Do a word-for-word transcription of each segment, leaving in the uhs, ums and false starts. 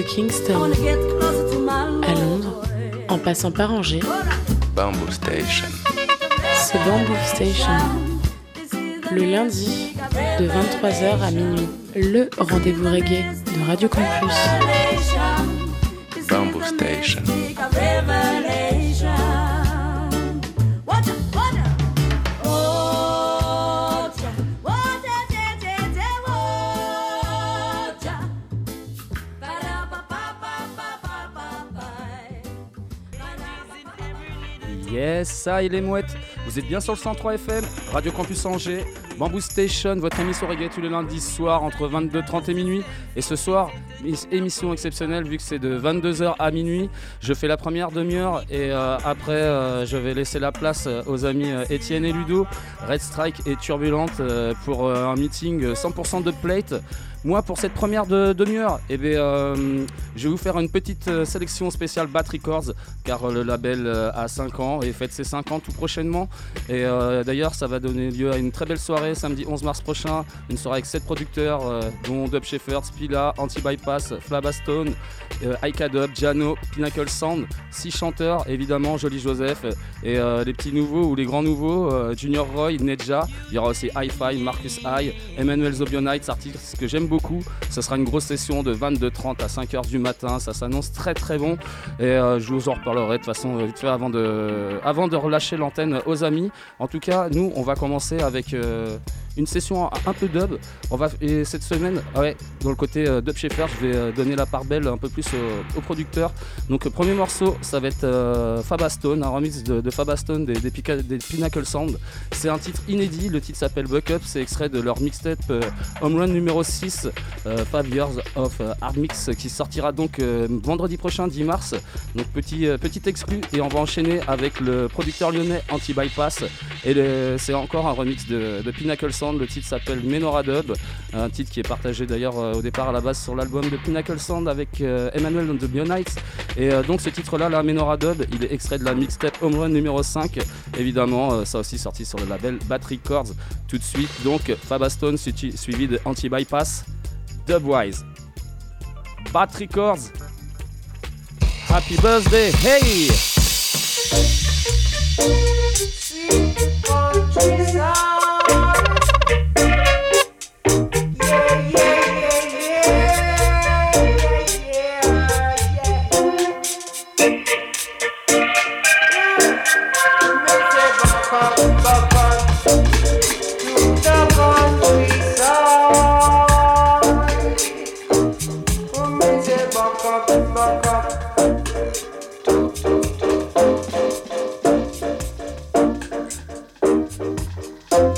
de Kingston à Londres, en passant par Angers, Bamboo Station. c'est Bamboo Station. Le lundi, de vingt-trois heures à minuit, le rendez-vous reggae de Radio Campus. Bamboo Station. Yes, ça et les mouettes, vous êtes bien sur le cent trois F M, Radio Campus Angers, Bamboo Station, votre émission reggae tous les lundis soirs entre vingt-deux heures trente et minuit. Et ce soir, émission exceptionnelle vu que c'est de vingt-deux heures à minuit. Je fais la première demi-heure et euh, après euh, je vais laisser la place aux amis euh, Étienne et Ludo, Red Strike et Turbulente euh, pour euh, un meeting cent pour cent de plate. Moi, pour cette première de, demi-heure, eh bien, euh, je vais vous faire une petite euh, sélection spéciale Bat Records, car euh, le label euh, a cinq ans et fête ses cinq ans tout prochainement. Et euh, d'ailleurs, ça va donner lieu à une très belle soirée samedi onze mars prochain, une soirée avec sept producteurs, euh, dont Dub Shepherd, Spila, Anti-Bypass, Flabastone, euh, Aika Dub, Jano, Pinnacle Sound, six chanteurs, évidemment, Joli Joseph, et euh, les petits nouveaux ou les grands nouveaux, euh, Junior Roy, Nedja, il y aura aussi Hi-Fi, Marcus High, Emmanuel Zobionites, artiste que j'aime beaucoup. Ce sera une grosse session de vingt-deux heures trente à cinq heures du matin, ça s'annonce très très bon et euh, je vous en reparlerai de toute façon vite fait avant de, avant de relâcher l'antenne aux amis. En tout cas, nous on va commencer avec euh, une session un peu dub. On va, et cette semaine, ouais, dans le côté euh, Dub Shepherd, je vais euh, donner la part belle un peu plus au, au producteur. Donc, le premier morceau, ça va être euh, Fabastone, un remix de, de Fabastone des, des, Pica, des Pinnacle Sound. C'est un titre inédit, le titre s'appelle Buck Up, c'est extrait de leur mixtape euh, Home Run numéro six, euh, five Years of euh, Hard Mix, qui sortira donc euh, vendredi prochain, dix mars. Donc, petit, euh, petit exclu, et on va enchaîner avec le producteur lyonnais Anti-Bypass. Et le, c'est encore un remix de, de Pinnacle Sound. Le titre s'appelle Menorah Dub, un titre qui est partagé d'ailleurs euh, au départ à la base sur l'album de Pinnacle Sound avec euh, Emmanuel and the Bionites. Et euh, donc ce titre là, la Menorah Dub, il est extrait de la mixtape Home Run numéro cinq. Évidemment, euh, ça aussi sorti sur le label Bat Records. Tout de suite, donc Fabastone suivi, suivi de Anti-Bypass, Dubwise. Bat Records. Happy birthday, hey! Up.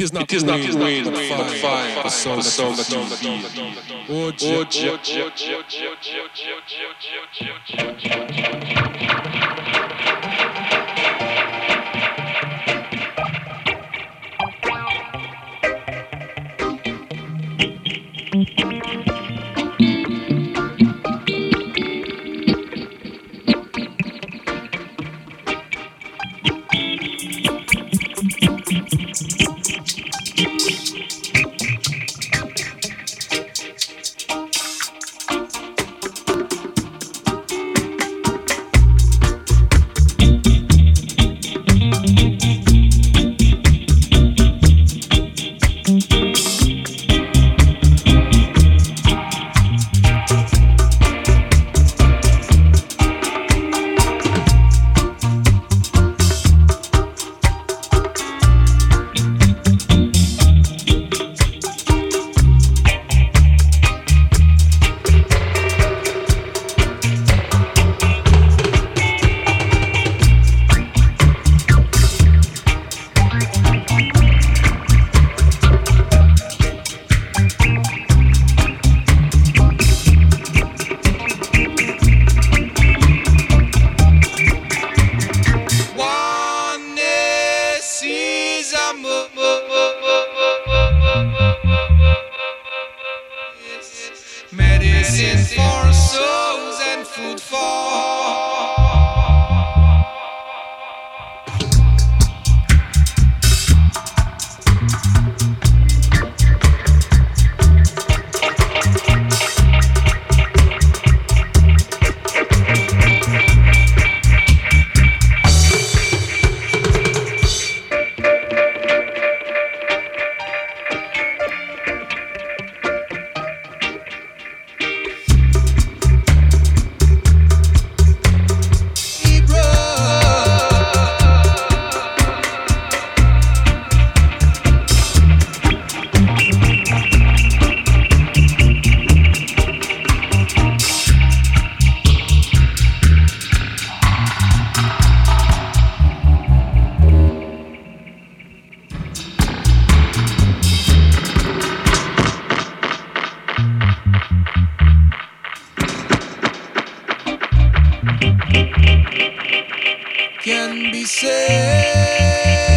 is not the rain, but fire, the soul, soul, soul, oh, oh, can be said.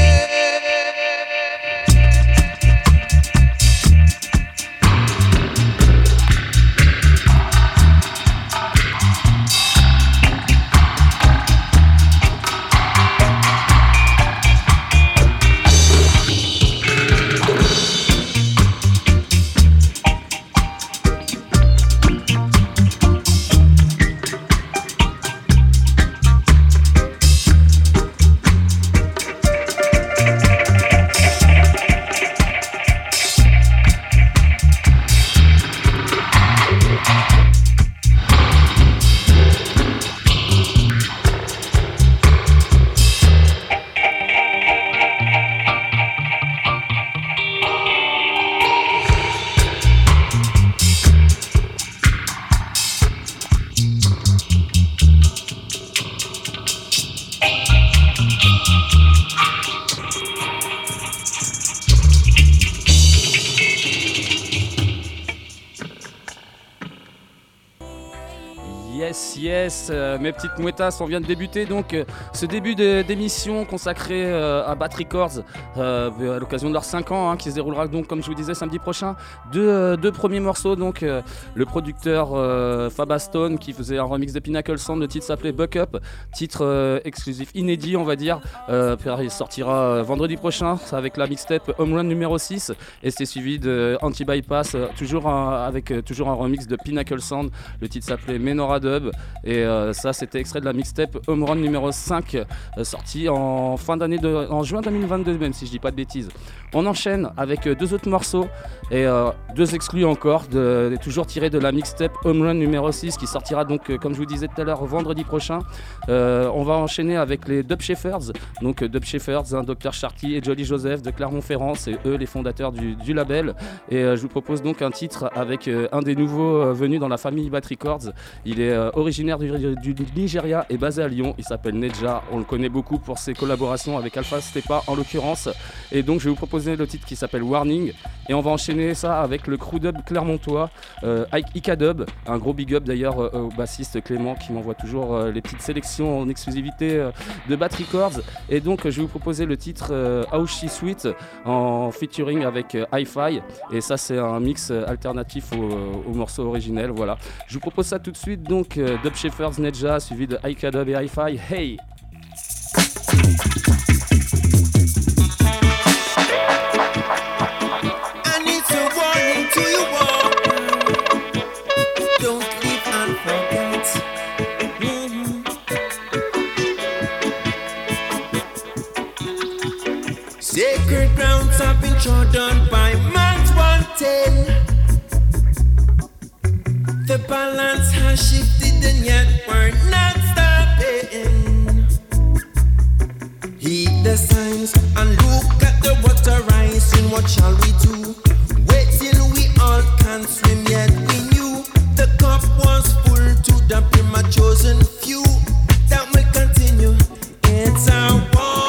Yes, yes, euh, mes petites mouettas, on vient de débuter donc euh, ce début de, d'émission consacré euh, à Bat Records euh, à l'occasion de leurs cinq ans hein, qui se déroulera donc comme je vous disais samedi prochain. Deux, euh, deux premiers morceaux, donc euh, le producteur euh, Fabastone qui faisait un remix de Pinnacle Sound, le titre s'appelait Buck Up, titre euh, exclusif inédit on va dire, euh, il sortira euh, vendredi prochain avec la mixtape Home Run numéro six et c'est suivi de Anti-Bypass, euh, toujours un, avec euh, toujours un remix de Pinnacle Sound, le titre s'appelait Menorah Dub et euh, ça c'était extrait de la mixtape Home Run numéro cinq euh, sorti en fin d'année de, en juin deux mille vingt-deux même si je dis pas de bêtises. On enchaîne avec euh, deux autres morceaux et euh, deux exclus encore de, de, toujours tirés de la mixtape Home Run numéro six qui sortira donc euh, comme je vous disais tout à l'heure vendredi prochain. Euh, on va enchaîner avec les Dub Shepherds, donc euh, Dub Shepherds, hein, docteur Sharky et Jolly Joseph de Clermont-Ferrand, c'est eux les fondateurs du, du label et euh, je vous propose donc un titre avec euh, un des nouveaux euh, venus dans la famille Bat Records. Il est euh, originaire du, du Nigeria et basé à Lyon. Il s'appelle Neja. On le connaît beaucoup pour ses collaborations avec Alpha Stepa en l'occurrence. Et donc je vais vous proposer le titre qui s'appelle Warning. Et on va enchaîner ça avec le crew dub clermontois, euh, Ika Dub. Un gros big up d'ailleurs euh, au bassiste Clément qui m'envoie toujours euh, les petites sélections en exclusivité euh, de Bat Records. Et donc je vais vous proposer le titre euh, How She Sweet en featuring avec euh, Hi-Fi. Et ça c'est un mix euh, alternatif au, au morceau originel. Voilà. Je vous propose ça tout de suite. Donc euh, Dub Shepherds Neja suivi de Ika Dub et Hi-Fi. Hey! Sacred grounds have been trodden by man's wanting. The balance has shifted and yet we're not stopping. Heed the signs and look at the water rising. What shall we do? Wait till we all can swim, yet we knew the cup was full to the brim, a chosen few that will continue. It's our war.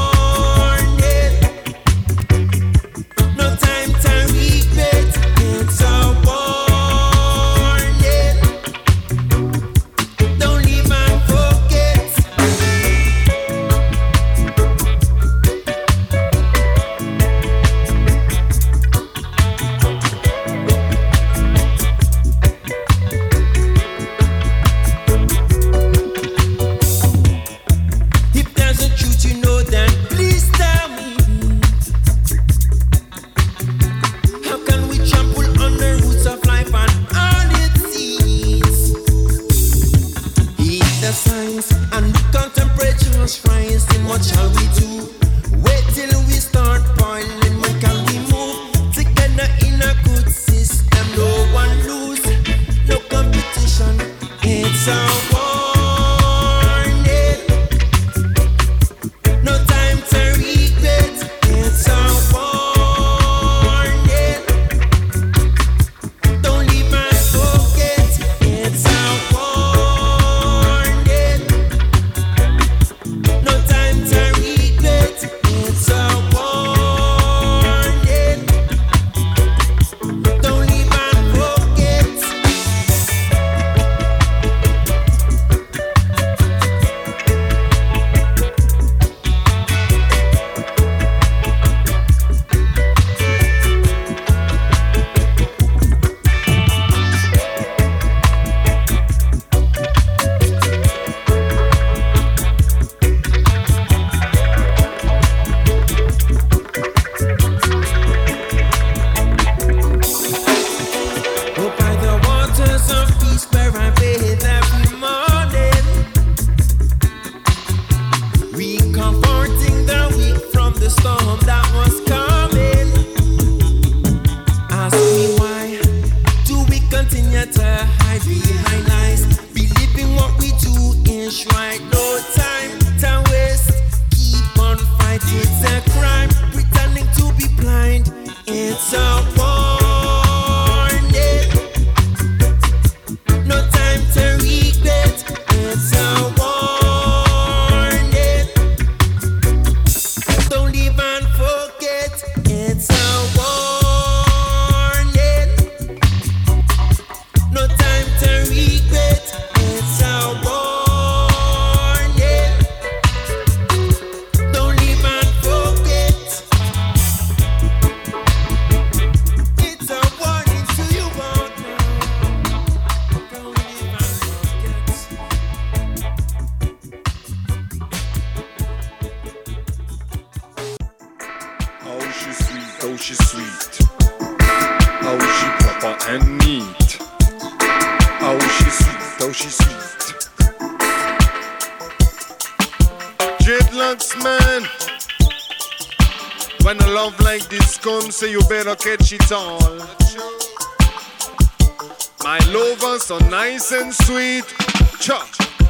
So you better catch it all. My lover so nice and sweet. Cha.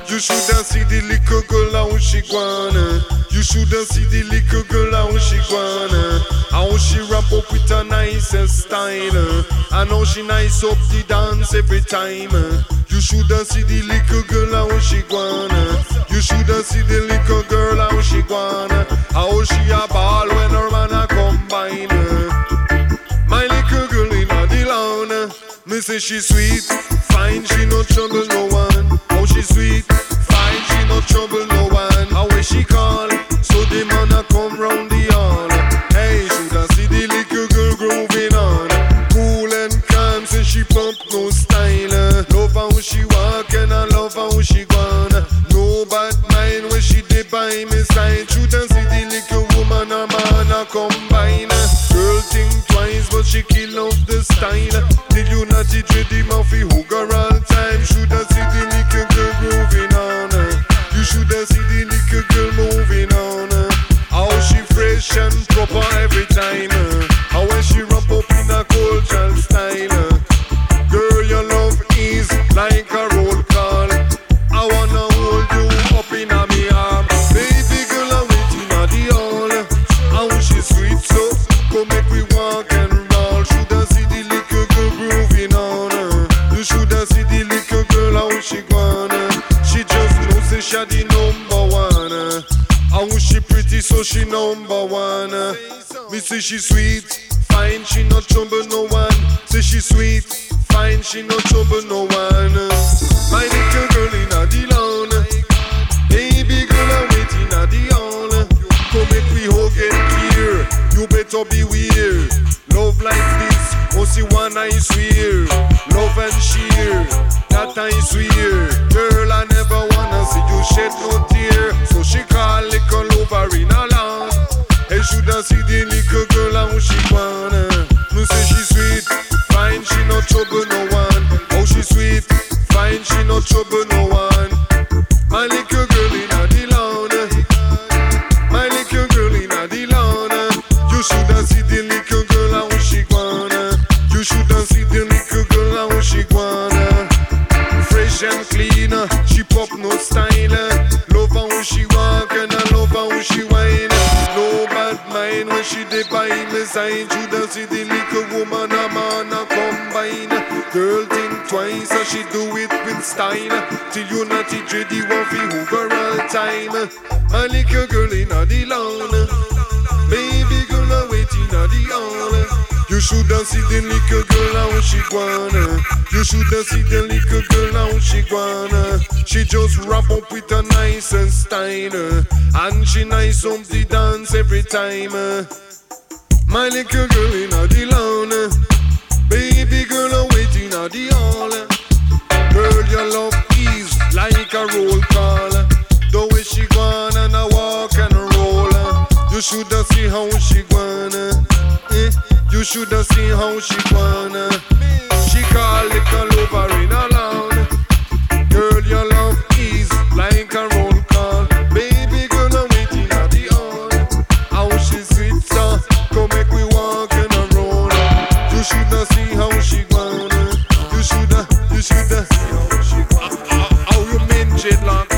You shoulda see the little girl how she gonna. You shoulda see the little girl how she gonna. How she wrap up with a nice style. And how she nice up the dance every time. You shoulda see the little girl how she gonna. You shoulda see the little girl how she gonna. How she a ball when her man a combine. My little girl in the lawn. Me say she sweet, fine, she no trouble no one. How she sweet, fine, she no trouble no one. How when she call, so the man a come round the hall. Hey, shoulda see the little girl grooving on. Cool and calm, say she pump no style. Love how she walk and I love how she gone. No bad mind when she dey by me side. Shoulda see the little woman a man a combine. Girl think twice but she kill off the style. Till you not it ready Murphy hook her all time. Shoulda see the little girl grooving on. You shoulda see the little girl moving on. How she fresh and proper every time. How when she ramp up in a cultural style. Girl your love is like a roll call. I wanna hold you up in a me arm. Baby girl I'm waiting at the hall. How she sweet so come make we walk and roll. Shoulda see the little girl grooving on. You shoulda see the little girl how she gonna. She just know say she the number one. How she pretty so she number one. Me say she sweet, fine she no trouble no one. Say she sweet, fine she no trouble no one. My little girl in a the lawn. Baby girl I'm waiting at the hall. Come make we hug and clear. You better be weird. Love like this, oh see one I swear. Love and cheer, that I swear. Girl I never wanna see you shed no tear. So she call little over in a lawn. And shoulda see the little girl how she wanna. Me say she sweet, fine she no trouble no one. Oh she sweet, fine she no trouble no one. My little girl in a the lawn. My little girl in a the lawn. You shoulda see the little girl how she wanna. You shoulda see the little girl how she wanna. Fresh and clean, she pop no style. Love how she walk and I love how she whine. No bad mind when she dey by me side. Shoulda see the little woman a man a combine. Girl think twice as she do it with style. Till you not it ready want fi hoover all time. A little girl in a the lawn. Baby girl a waiting at the hall. You shoulda see the little girl how she gonna. You shoulda see the little girl how she gonna. She just wrap up with a nice and style. And she nice up the dance every time. My little girl in a the lawn. Baby girl I'm waiting at the hall. Girl your love is like a roll call. The way she gone and I walk and roll. You shoulda see how she gonna. Eh? You shoulda see how she gonna. She call little over in a lawn. Girl your love is like a roll call. Baby girl I'm waiting at the hall. How she sweet so come make we walk and a roll. You shoulda see how she gonna. You shoulda, you shoulda see how she gonna. How, how you mean dreadlocks?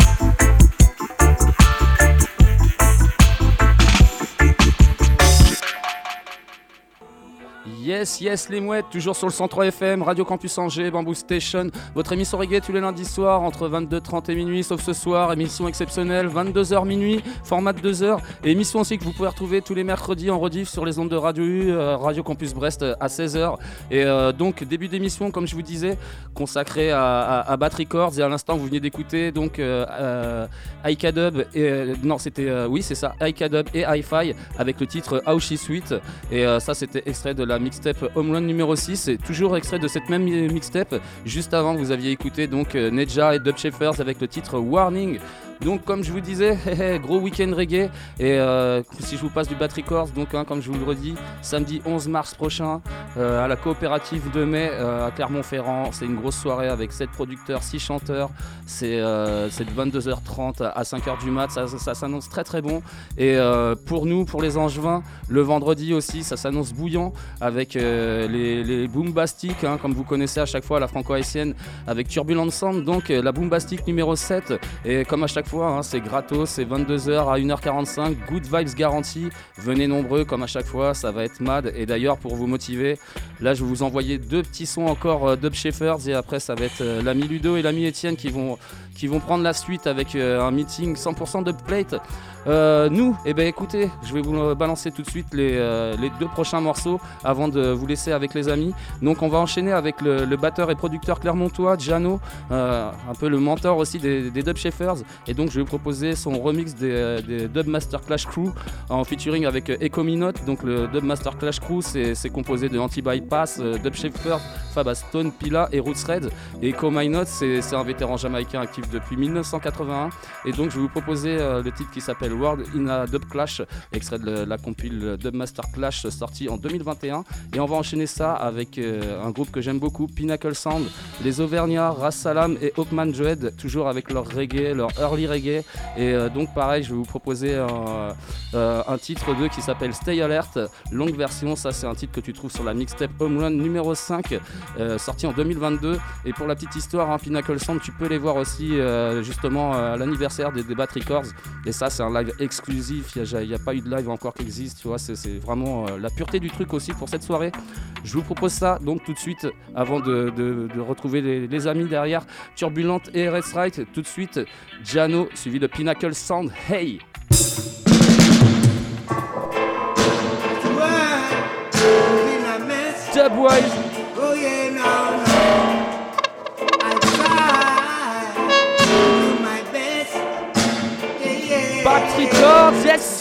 Yes, yes, les mouettes, toujours sur le cent trois F M, Radio Campus Angers, Bamboo Station, votre émission reggae tous les lundis soirs entre vingt-deux heures trente et minuit, sauf ce soir, émission exceptionnelle, vingt-deux heures minuit, format de deux heures, et émission aussi que vous pouvez retrouver tous les mercredis en rediff sur les ondes de Radio U, euh, Radio Campus Brest euh, à seize heures. Et euh, donc, début d'émission, comme je vous disais, consacré à, à, à Bat Records, et à l'instant, vous venez d'écouter donc euh, euh, Icadub, et euh, non, c'était, euh, oui, c'est ça, Icadub et Hi-Fi avec le titre How She Sweet, et euh, ça, c'était extrait de la mixtape Home Run numéro six, et toujours extrait de cette même mixtape. Juste avant, vous aviez écouté donc Neja et Dub Shepherds avec le titre Warning. Donc comme je vous disais, gros week-end reggae, et euh, si je vous passe du Bat Records, donc hein, comme je vous le redis, samedi onze mars prochain, euh, à la coopérative de mai euh, à Clermont-Ferrand. C'est une grosse soirée avec sept producteurs, six chanteurs. C'est, euh, c'est de vingt-deux heures trente à cinq heures du mat. Ça, ça, ça s'annonce très très bon. Et euh, pour nous, pour les Angevins, le vendredi aussi, ça s'annonce bouillant avec euh, les, les Boombastics, hein, comme vous connaissez à chaque fois la franco-haïtienne, avec Turbulent Sound. Donc euh, la Boombastic numéro sept. Et comme à chaque fois, hein, c'est gratos, c'est vingt-deux heures à une heure quarante-cinq. Good vibes garantie. Venez nombreux comme à chaque fois, ça va être mad. Et d'ailleurs, pour vous motiver, là je vais vous envoyer deux petits sons encore euh, Dub Shepherds, et après ça va être euh, l'ami Ludo et l'ami Étienne qui vont, qui vont prendre la suite avec euh, un meeting cent pour cent Dubplate. Euh, nous, eh ben écoutez, je vais vous balancer tout de suite les, euh, les deux prochains morceaux avant de vous laisser avec les amis. Donc on va enchaîner avec le, le batteur et producteur clermontois Jano, euh, un peu le mentor aussi des, des Dub Shepherds, et donc je vais vous proposer son remix des, des Dub Master Clash Crew en featuring avec Echo Minote. Donc le Dub Master Clash Crew, c'est, c'est composé de Anti-Bypass, euh, Dub Shepherds, Fab Stone, Pila et Roots Red. Et Echo Minote, c'est, c'est un vétéran jamaïcain actif depuis dix-neuf cent quatre-vingt-un, et donc je vais vous proposer euh, le titre qui s'appelle World in a Dub Clash, extrait de la compile Dub Master Clash sorti en deux mille vingt et un. Et on va enchaîner ça avec euh, un groupe que j'aime beaucoup, Pinnacle Sound, les Auvergnats, Ras Salam et Hawkman Joed, toujours avec leur reggae, leur early reggae. Et euh, donc pareil, je vais vous proposer un, euh, un titre d'eux qui s'appelle Stay Alert, longue version. Ça c'est un titre que tu trouves sur la mixtape Home Run numéro cinq, euh, sorti en deux mille vingt-deux. Et pour la petite histoire, hein, Pinnacle Sound, tu peux les voir aussi euh, justement à l'anniversaire des, des Bat Records. Et ça c'est un live exclusif, il n'y a, a pas eu de live encore qui existe, tu vois, c'est, c'est vraiment euh, la pureté du truc aussi pour cette soirée. Je vous propose ça donc tout de suite, avant de, de, de retrouver les, les amis derrière, Turbulente et R S Right. Tout de suite, Jano, suivi de Pinnacle Sound. Hey! Dubwise! Oh yeah, no, no. I try to do my best. Yeah, yeah. Bat Records, yes!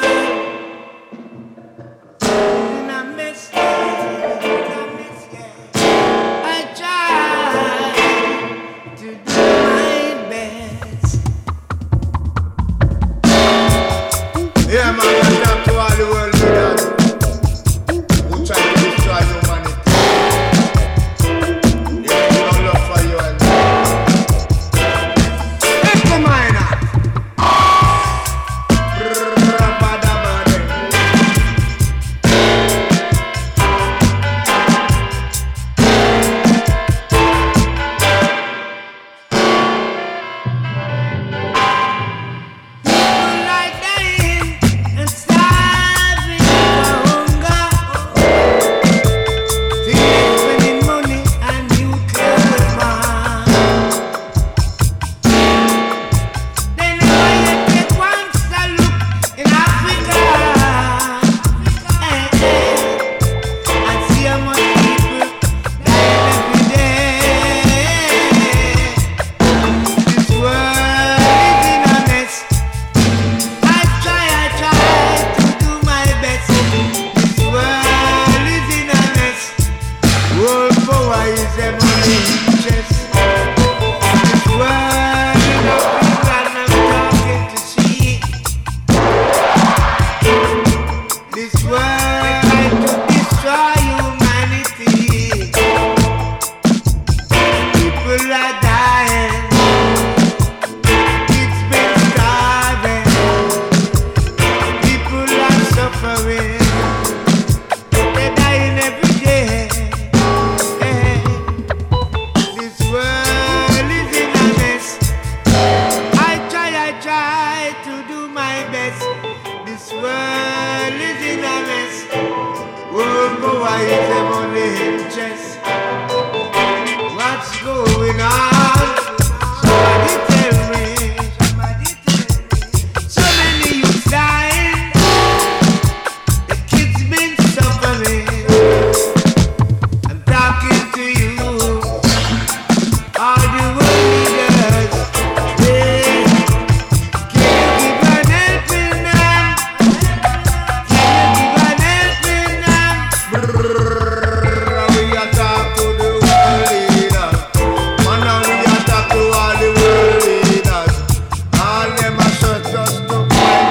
Yeah, man, I talk to all the world leaders who try to destroy humanity. They have no love for you and me. Echo Miner.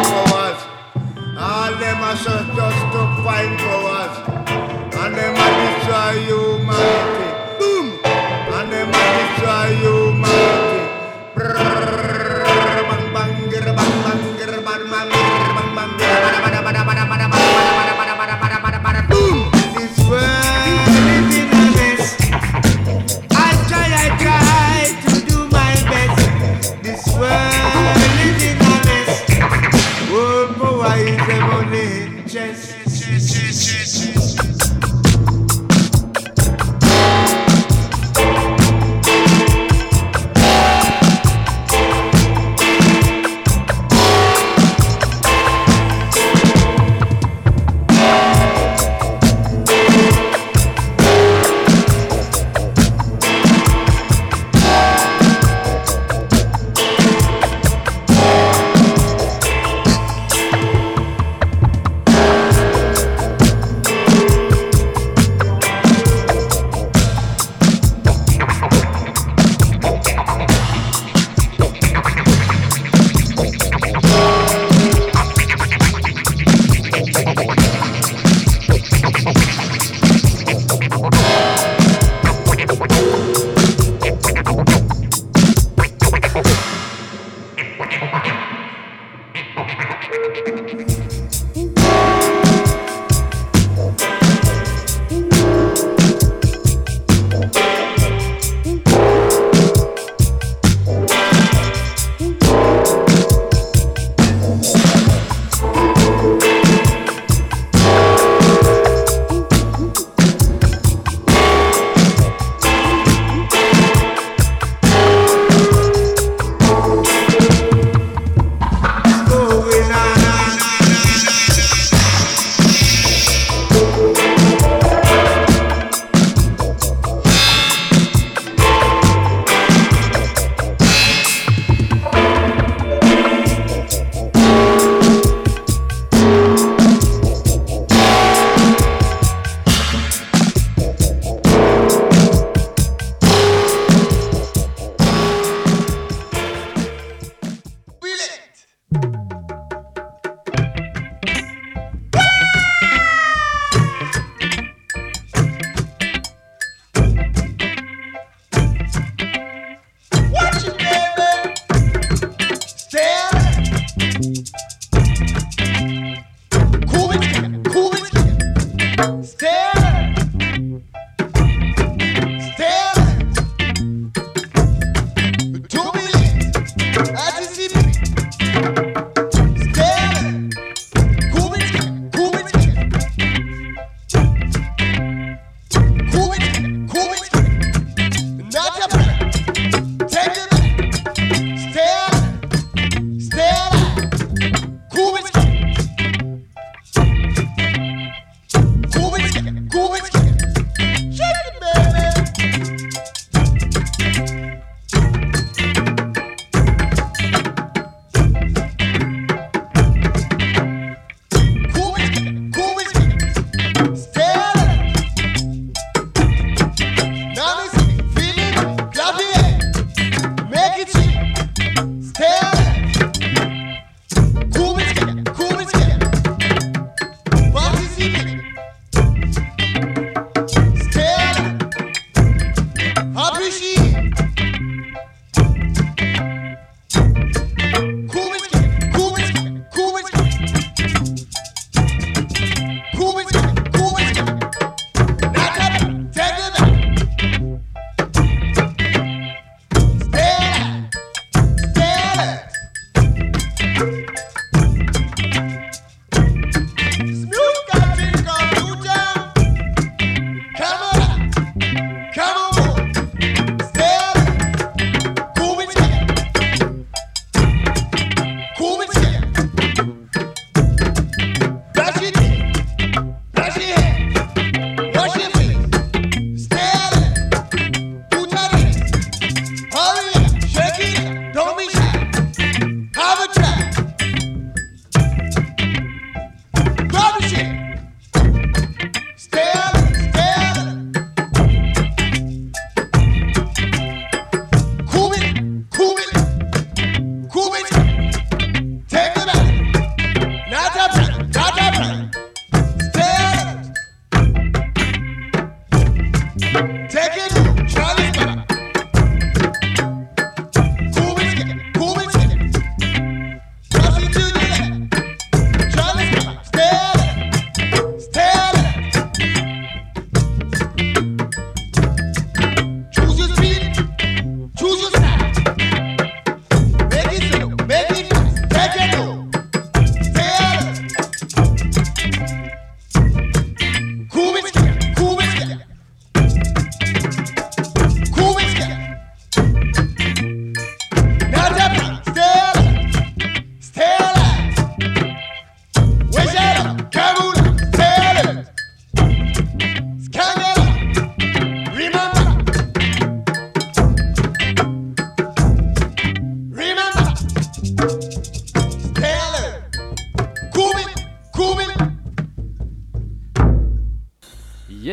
Just to find for us, and them are destroy humanity. Boom! And them a destroy humanity. Brrrr, bang bang, grr, bang bang, grr, bang bang, grr, bang bang, grr, bada bada bada bada bada bada bada bada bada bada bada bada. Boom! This world is in a mess. I try, I try to do my best. This world is in a mess. World power is a money chest.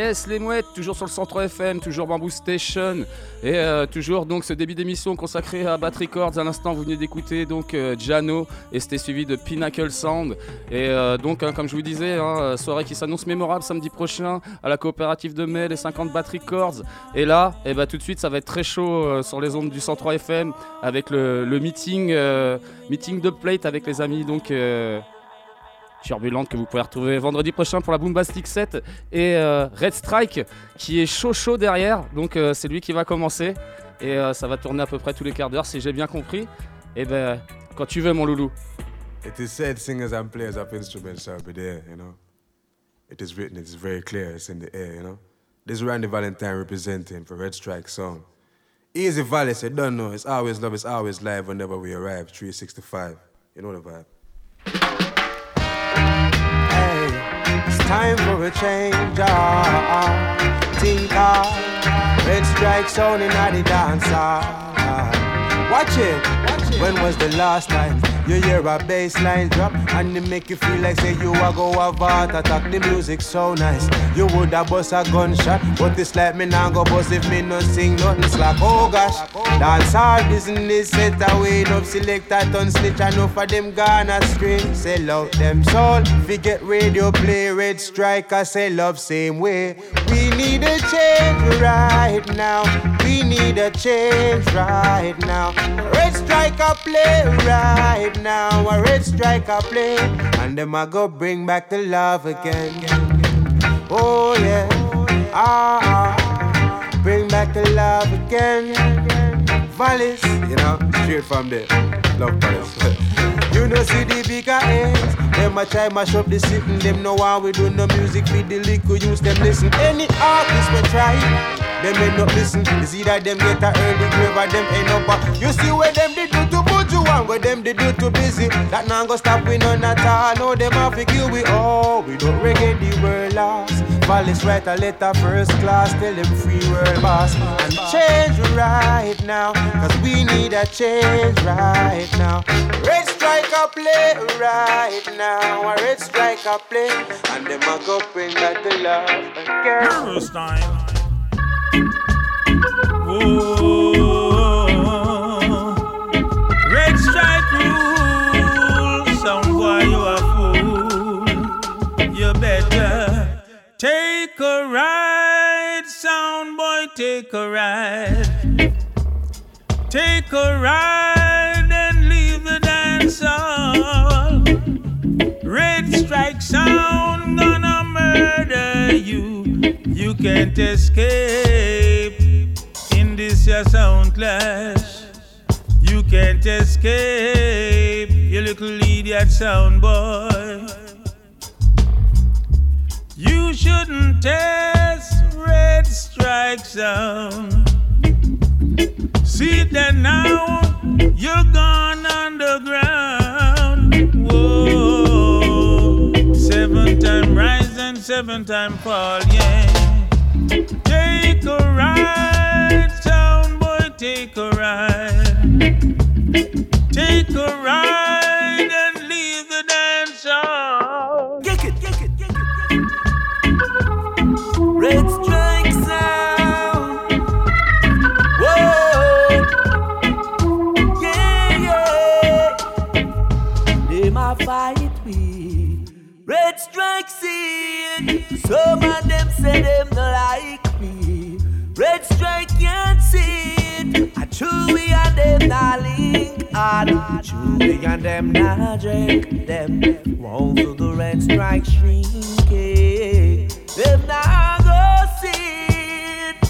Yes, les mouettes, toujours sur le cent trois F M, toujours Bamboo Station. Et euh, toujours donc ce début d'émission consacré à Bat Records. À l'instant, vous venez d'écouter donc euh, Jano et c'était suivi de Pinnacle Sound. Et euh, donc, hein, comme je vous disais, hein, soirée qui s'annonce mémorable samedi prochain à la coopérative de mai, les cinquante Bat Records. Et là, eh ben, tout de suite, ça va être très chaud euh, sur les ondes du cent trois F M avec le, le meeting, euh, meeting de plate avec les amis donc. Euh, Turbulente que vous pouvez retrouver vendredi prochain pour la Boombastic sept et euh, Red Strike qui est chaud chaud derrière donc euh, c'est lui qui va commencer et euh, ça va tourner à peu près tous les quarts d'heure si j'ai bien compris et ben quand tu veux mon loulou. It is said singers and players of instruments shall be there, you know. It is written, it is very clear, it's in the air, you know. This is Randy Valentine representing for Red Strike Song. Easy Valley said, don't know, it's always love, it's always live whenever we arrive, three sixty-five, you know the vibe. It's time for a change, ah, think ah, Red Strike sound in the dance, ah. Watch it, watch it. When was the last time you hear a bass line drop and it make you feel like say you a go have heart attack? The music so nice, you would have bust a gunshot, but it's like me now go bust if me no sing nothing slack. Oh gosh, dance all business set away, enough selector ton snitch, enough of them gone astray. Sell out them soul, forget radio play, Red Strike I say love same way. We need a change right now, we need a change right now. Red Strike I play right now, a Red Strike I play, and them I go bring back the love again. Oh yeah, ah, ah, bring back the love again. Valleys, you know, straight from there, love Valleys. You know see the bigger ends, them a try mash up the sitting, them know how we do no music with the liquor use them listen. Any artist we try, them end up listen. It's either them get a early grave or them end up a, you see where them they do to Buju and where them they do to busy. That now go stop we none at all, no them have to kill we all. We don't reggae the world lost. Valleys write a letter first class, tell them free world boss. And change right now, cause we need a change right now. Red Strike a play right now, a Red Strike a play, and them a go bring back the love again. First time. Whoa. Red Strike rule, some boy you a fool. You better take a ride, sound boy, take a ride. Take a ride and leave the dance hall. Red Strike sound gonna murder you. You can't escape in this your sound clash. You can't escape, you little idiot sound boy. You shouldn't test Red Strike sound. See that now, you're gone underground. Whoa, seven time rise and seven time fall, yeah. Take a ride, sound boy, take a ride. Take a ride and leave the dance hall. Kick it, kick it, kick it, kick it. Red Strike sound. Whoa, yeah, yeah. They ma fight me. Red Strike see it. Some of them say them no like me. Red Strike can't see it. I Chewy and them not link hard. Chewy and them not drink. Them won't do the Red Strike shrinking. Them not go see it.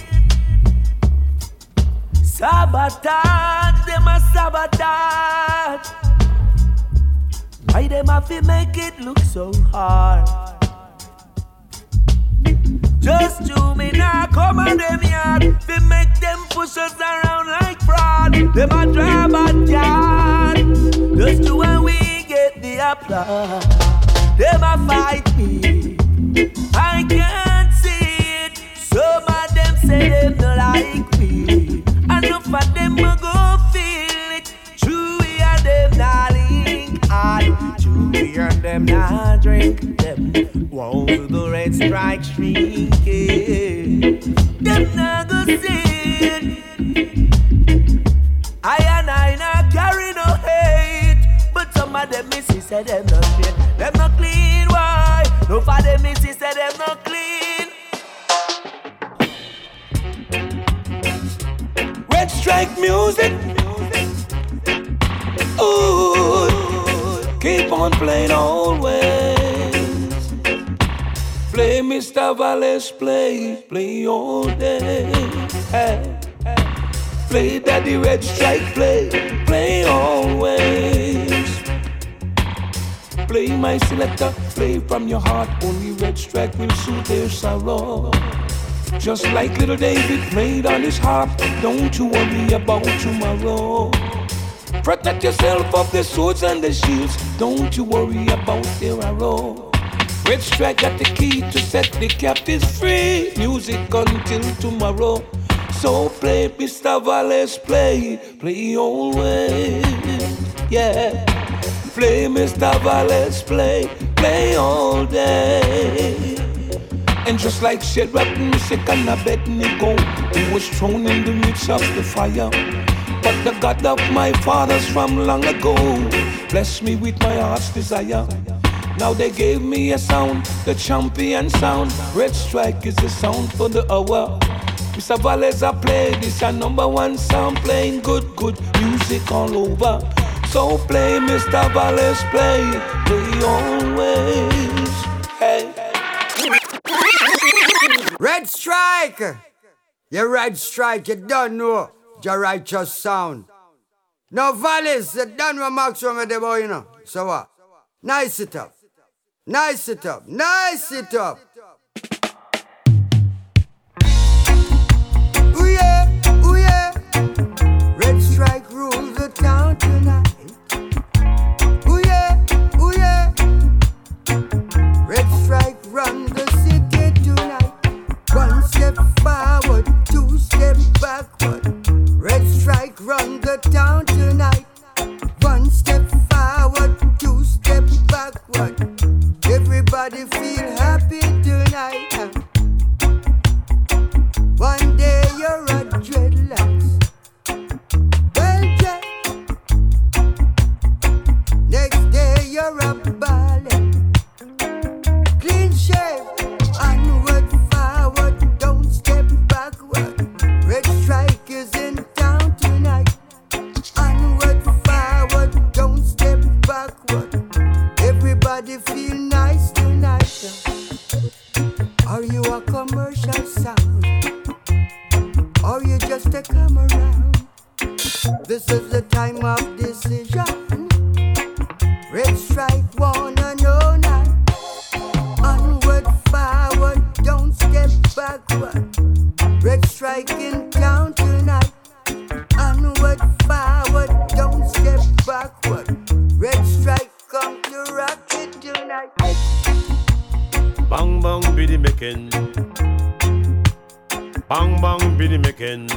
Sabotage, them a sabotage. Why them have to make it look so hard? Just to me now come on them yard. They make them push us around like fraud. Them a drive a yard. Just to when we get the applause. Them a fight me. I can't see it. Some of them say them no like me. Enough of them a go feel it. Chewy and them not link hard. Chewy and them not drink. Them won't do the Red Strike shrinking. sin. I and I not carry no hate, but some of them missus say them not clean. Them not clean, why? No for them missus say them not clean. Red Strike music. Ooh, keep on playing always. Play Mister Valles, play, play all day. Hey. Play Daddy Red Strike, play, play always. Play my selector, play from your heart. Only Red Strike will soothe their sorrow. Just like little David played on his harp. Don't you worry about tomorrow. Protect yourself of the swords and the shields. Don't you worry about their arrow. Red Strike got the key to set the captives free. Music until tomorrow. So play, Mister Valles, play, play always, yeah. Play, Mister Valles, play, play all day. And just like Shadrach, Meshach, and Abednego, he was thrown in the midst of the fire. But the God of my fathers from long ago blessed me with my heart's desire. Now they gave me a sound, the champion sound. Red Strike is the sound for the hour. Mister Valles, I play this a number one sound, playing good, good music all over. So play, Mister Valles, play, play always. Hey. Red Strike! You Red Strike, you don't know your righteous sound. Now Valles, you don't know maximum of the boy, you know. So what? Nice it up. Nice it up. Nice it up. Ooh yeah, ooh yeah. Red Strike rules the town tonight. Ooh yeah, ooh yeah. Red Strike run the city tonight. One step forward, two step backward. Red Strike run the town tonight. One step forward, two step backward. Everybody feel happy tonight. One day you're a dreadlocks. Well, Jack. Next day you're a ballet. Clean shave. Onward, forward, don't step backward. Red Strike is in town tonight. Onward, forward, don't step backward. Everybody feel nice tonight. Are you a commercial sound? Or you just a come around? This is the time of decision. Red Strike wanna know now. Onward, forward, don't step backward. Red Strike in town tonight. Onward, forward, don't step backward. Red Strike come to rock it tonight. Bang bang biddy making. Bang bang biddy making.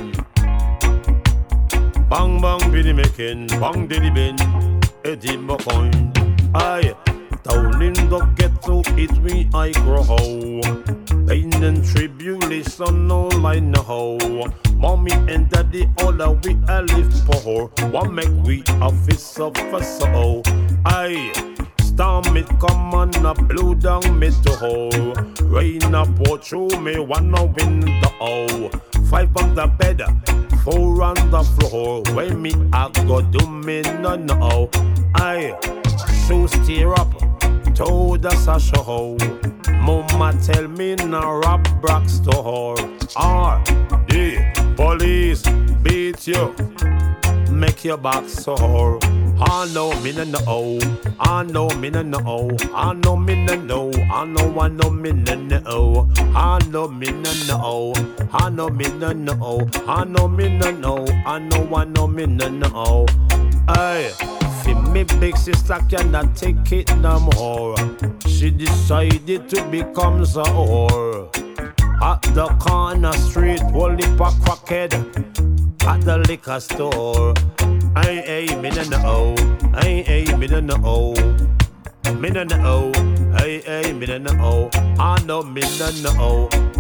Bang bang biddy making. Bang diddy bin. Eddie McCoy. Aye. Down in the ghetto, it me I grow. Pain and tribulation, all I know. Mommy and daddy, all that we a live for. What make we a fist of a soul? Aye. Storm it come on a blow down me to hole. Rain a pour through me, wanna win the O. Five on the bed, four on the floor. When me I go do me no no. Aye. Shoes tear up, told us a show. Mama tell me no rob Brock store. R D police beat you, make your back sore. I know me no know, I know me no know, I know me no know, I know I know me no know, I know me no know, I know me no know, I know me no know, I know I know me no know. Aye. Me big sister cannot take it no more. She decided to become a whore. At the corner street, only for crackhead. At the liquor store. Ay, ay, me no know. Ay, ay, me no know. Me no know. Ay, ay, me no know. I know me no know.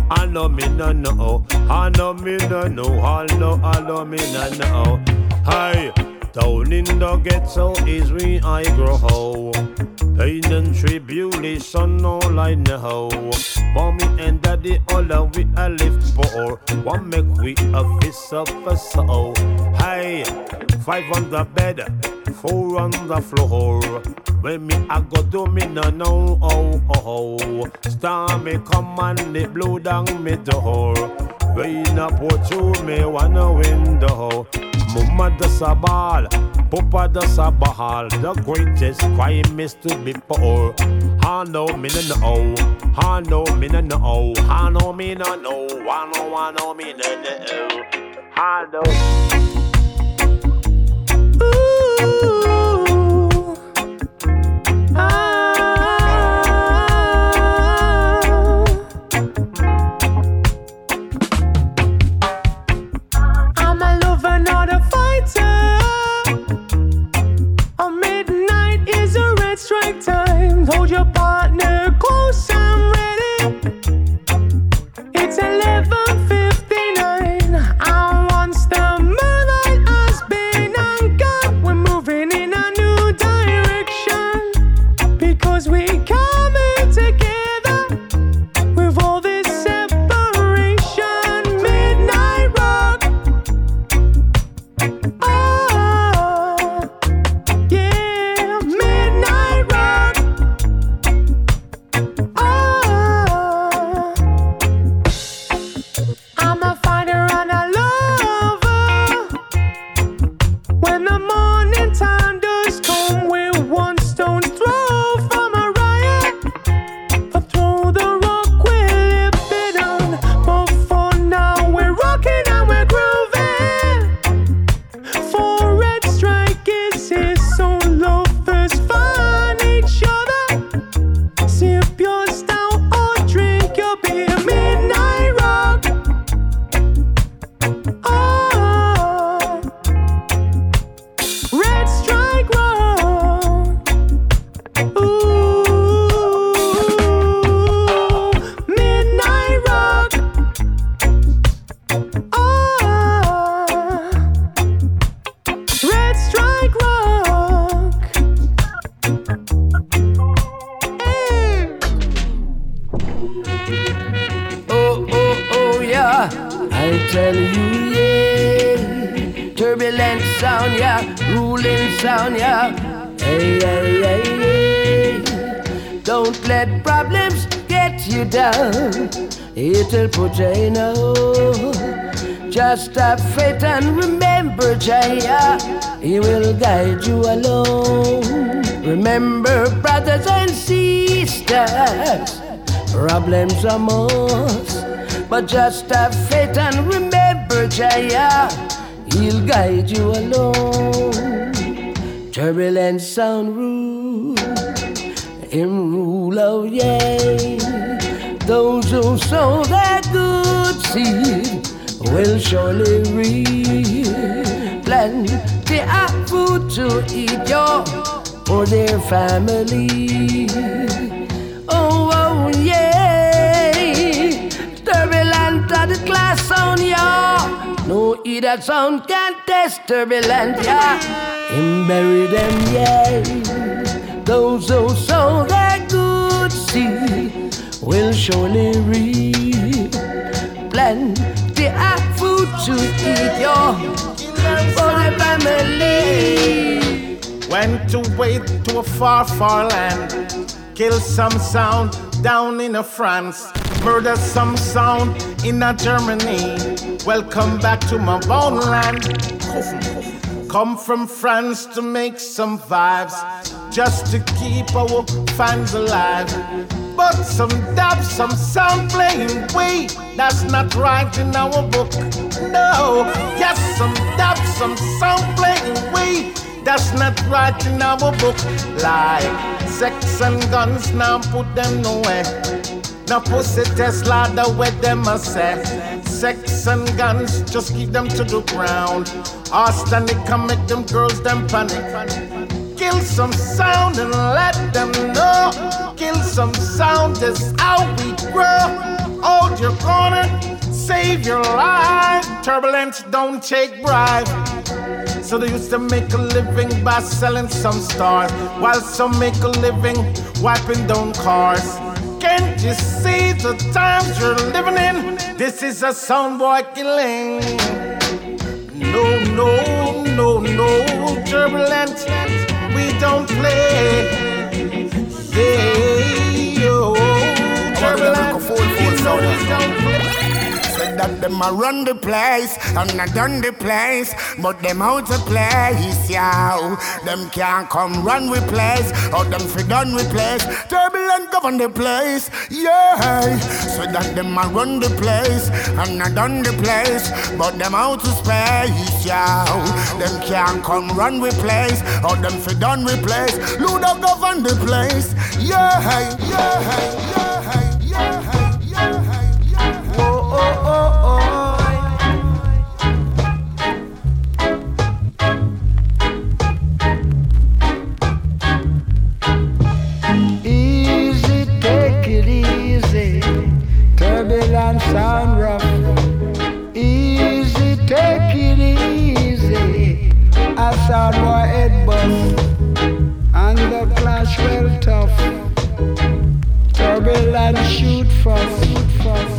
I know me no know. I know me no know. I know, I know me no know. Hi, down in the ghetto is where I grow. Pain and tribulation, all I know. Mommy and daddy, all of we a live for. One make we a fist of a soul. Hi, five on the bed, four on the floor. When me I go do me no know, oh oh oh. Star me come and they blow down me door. Rain up pour through me one window. Mama does a ball, Papa does a ball. The greatest crime is to be poor. I know me no know, I know me no know, I know me no know, I know I know me no know, I know. Ooh, ah. I'm a lover, not a fighter. A midnight is a red strike time. Hold your partner close, I'm ready. It's eleven fifty-nine. I want the moonlight has been uncut. We're moving in a new direction because we coming together with all this separation. Midnight rock. Oh, yeah, midnight rock. Oh, I'm a fighter and a lover. When the morning time does come, we're one stone throw from a riot. But throw the rock, we'll live it on. But for now, we're rocking and we're grooving. For red strike is here, so lovers find each other. Sip your stout or drink your beer. Midnight rock. Oh, red strike rock. Ooh, midnight rock. Oh, red strike rock. Hey. Oh, oh, oh, yeah. I tell you, yeah. Turbulent sound, yeah. Ruling sound, yeah. Hey, hey, hey, hey. Don't let problems get you down. It'll put you in a hole. Just have faith and remember, Jaya. He will guide you along. Remember, brothers and sisters, problems are most, but just have faith and remember, Jaya, he'll guide you along. Turbulent sound rule, him rule, oh yeah. Those who sow that good seed will surely reap. Plenty of food to eat, yo, for their family. Oh, oh, yeah. Turbulent are the class sound, yeah. No either sound can test turbulent, yeah. Him bury them, yeah. Those who sow their good seed will surely reap. Plenty of food to eat, yo, for the family. Went away to a far, far land. Kill some sound down in a France. Murder some sound in a Germany. Welcome back to my bone land. Come from France to make some vibes, just to keep our fans alive. But some dub, some sound playing way, that's not right in our book. No, yes, some dub, some sound playing way, that's not right in our book. Like sex and guns, now put them nowhere. Now pussy Tesla, the way them a say. Sex and guns, just keep them to the ground. Arsenic can make them girls them panic. Kill some sound and let them know. Kill some sound is how we grow. Oh, you're gonna save your life. Turbulent, don't take bribe. So they used to make a living by selling some stars, while some make a living wiping down cars. Can't you see the times you're living in? This is a soundboy killing. No, no, no, no, Turbulent, we don't play. Yeah, yo, Turbulent, you know we don't play. That them a run the place and I done the place, but them out of place, yeah. Them can't come run with place, or them fi done with place. Turbulent govern the place, yeah. So that them a run the place and I done the place, but them out of space, yeah. Them can't come run with place, or them fi done with place. Luda govern the place, yeah, yeah, yeah, yeah, yeah. Oh, oh, oh, oh. Easy, take it easy. Turbulent sound rough. Easy, take it easy. I sound boy head bust, and the clash well tough. Turbulent shoot first, shoot first.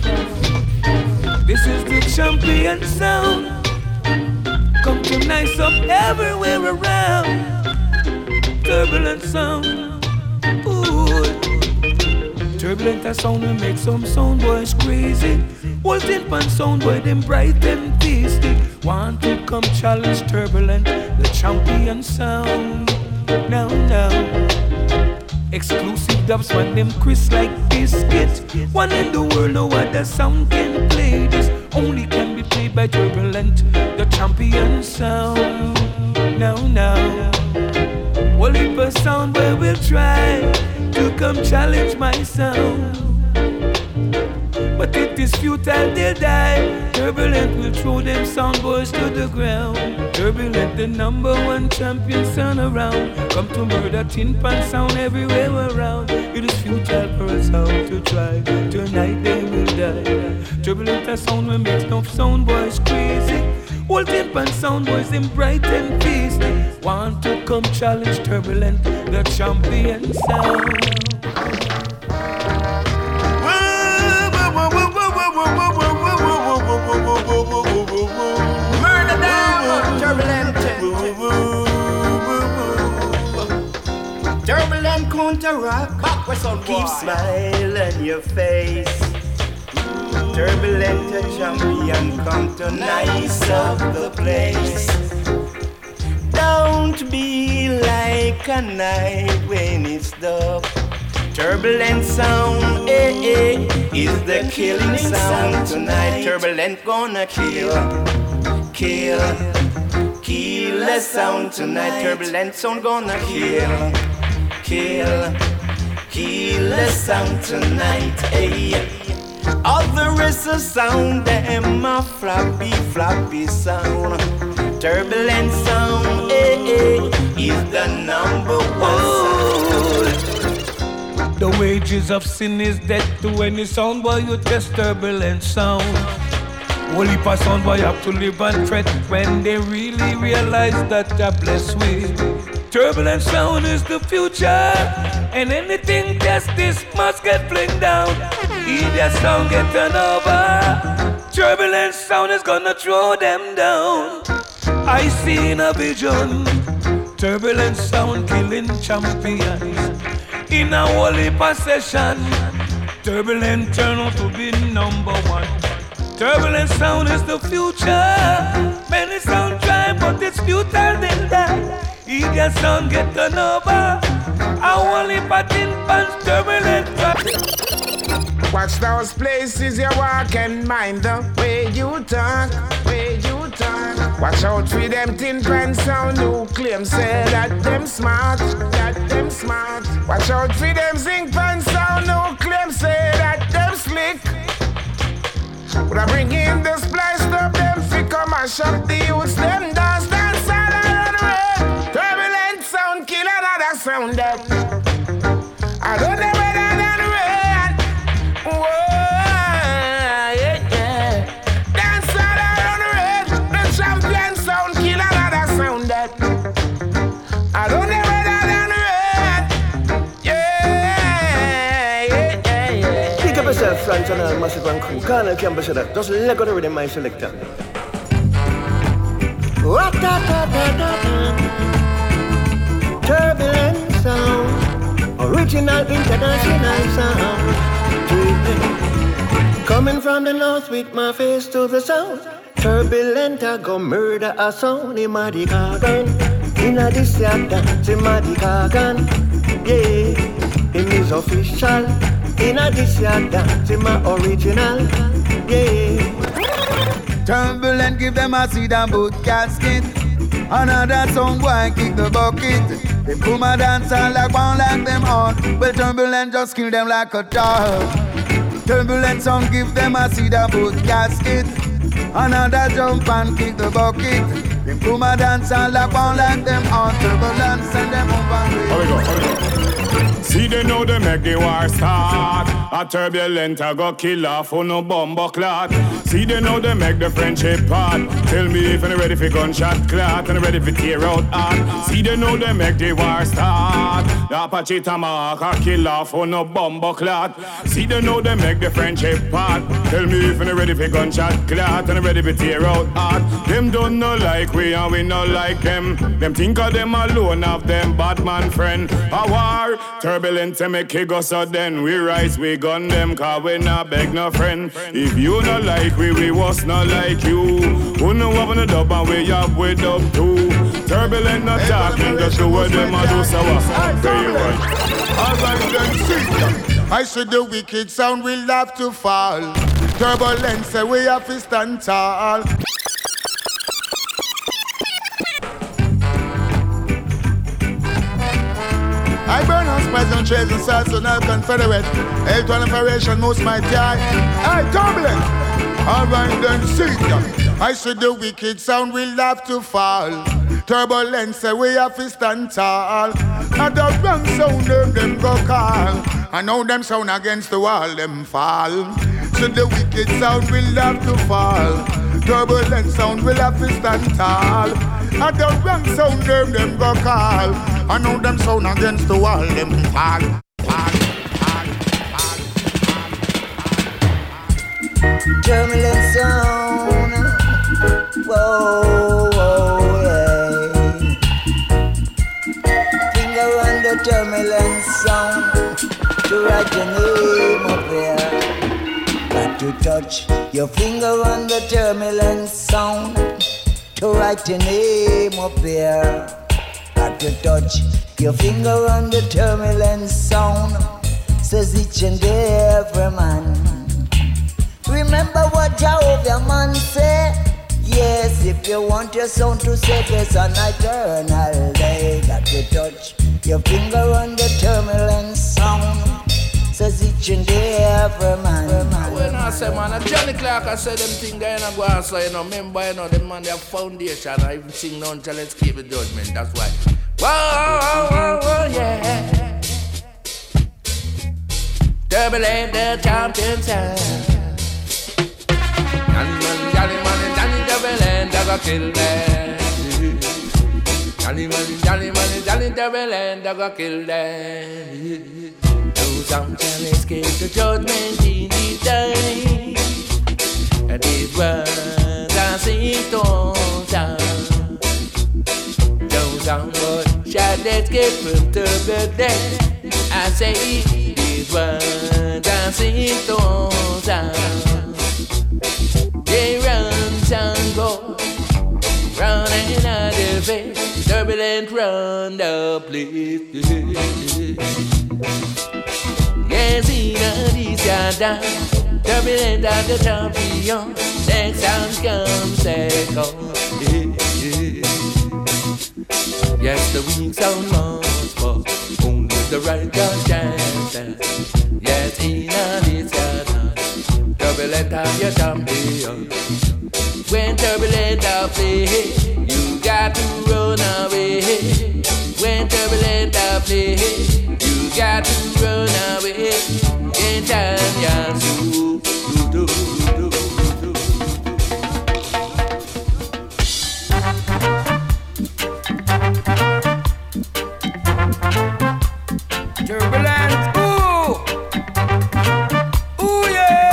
This is the champion sound. Come to nice up everywhere around. Turbulent sound. Ooh. Turbulent a sound will make some sound boys crazy. Walton pan sound boy them bright and tasty. Want to come challenge Turbulent, the champion sound. Now, now. Exclusive dubs when them crisp like biscuit. One in the world, no other sound can play this. Only can be played by Turbulent, the champion sound. Now, now. Well, if a sound where we'll try to come challenge my sound, but it is futile, they'll die. Turbulent will throw them sound boys to the ground. Turbulent, the number one champion sound around. Come to murder tin pan sound everywhere around. It is futile for a sound to try. Tonight they will die. Turbulent, a sound will make no sound boys crazy. Old tin pan sound boys them bright and feisty. Want to come challenge Turbulent, the champion sound. Murder them, Turbulent. Turbulent counter-rock. Keep smile on your face. Turbulent a champion, come to nice up the place. Don't be like a night when it's dark. Turbulent sound, eh, eh, is the killing sound tonight. Turbulent gonna kill, kill, kill the sound tonight. Turbulent sound gonna kill, kill, kill the sound tonight. Hey, all the rest of sound them a floppy, floppy sound. Turbulent sound, eh, eh, is the number one sound. The wages of sin is death to any sound boy you test Turbulent sound. Only for sound boy have to live and fret when they really realize that they're blessed with. Turbulent sound is the future, and anything test this must get flinged down. Either sound get turned over, Turbulent sound is gonna throw them down. I see in a vision, Turbulent sound killing champions. In a holy possession, Turbulent turn out to be number one. Turbulent sound is the future. Many sound try, but it's futile then die. Either sound get turned over, a holy patin pants Turbulent. Watch those places you walk and mind the way you talk, way you talk. Watch out for them tin pan sound who claim say that them smart, that them smart. Watch out for them zinc pan sound who claim say that them slick. When I bring in the splice up them fi come and shop the youths, them dance, dance all around the way. Turbulent sound kill another sound up. I don't know whether that way. Whoa. traditional, massive and cool. Colonel Campbell said that. Just let go the rhythm, my selector. Turbulent sound, original international sound. Coming from the north with my face to the south. Turbulent, I go murder a sound in my garden. In a this dance in my garden. Yeah, it is official. In a this dance in my original. Yeah. Turbulent, give them a seed and boot casket. Another song boy kick the bucket. They pull my dance and like one like them on. Well, turbulent just kill them like a dog. Turbulent song give them a seed and boot casket. Another jump and kick the bucket. They pull my dance and like one like them on. Turbulent send them up and Here we go, here we go. See they know they make the war start. A turbulent I go kill off for no bomber clot. See they know they make the friendship part. Tell me if you're ready for gunshot clot and ready for tear out heart. See they know they make the war start. The Apache Tomahawk a kill off for no bomber clot. See they know they make the friendship part. Tell me if you're ready for gunshot clot and ready for tear out heart. Them don't know like we and we not like them. Them think of them alone of them bad man friend. A war turbulent to make it go so then we rise we gun them cause we not beg no friend. If you not like we, we was not like you. Who know what the dub and we have we dub too. Turbulent not talking just do what them a do so very right. Alright then see, I said the wicked sound will have to fall. Turbulent say we have to stand tall. I burn house, present, trails and salts on our confederate. Eight one operation, most mighty eye. I turbulent. Alright then see ya. I said the wicked sound will have to fall. Turbulence say we have to stand tall. And the wrong sound them, them go call. I know them sound against the wall, them fall. So the wicked sound will have to fall. Turbulent sound will have to stand tall. And the wrong sound them, them go call. I know them sound against the wall, them fall. Fall, fall, fall, fall. Turbulent sound. Whoa, whoa, yeah. Finger on the turbulent sound. To write your name up there. Got to touch your finger on the turbulent sound. To write your name up there. Got to touch your finger on the turbulent sound. Says each and every man. Remember what Jehovah man said. Yes, if you want your sound to set us on eternal day. Got to touch your finger on the turbulent sound. Says each and every man. When I say man, Johnny Clark, I say them thing there and I go and say, you know, remember, you know, them man, they have foundation. I even sing no until let's keep the judgment, that's why. Whoa, whoa, whoa, yeah. Turbulent, the champion sound. Johnny man, Johnny man, Johnny turbulent, I go kill them. Johnny man, Johnny man, Johnny turbulent, I go kill them. Some shall escape the judgment in the day. And these words I sing to sound. Those some shall escape from the day. I say these words I sing to sound. They run, sound go, run another face. Turbulent run the place. Yes, in a this yada, turbulent at the champion. Next sound comes second. Yes, the weak sound must fall. Only the right can chance. Yes, in a this yada, turbulent at your champion. When turbulent I play, you got to run away. When turbulent I play, you got to run away. In time, yeah, so do, do, do, do. Turbulent, ooh, ooh yeah.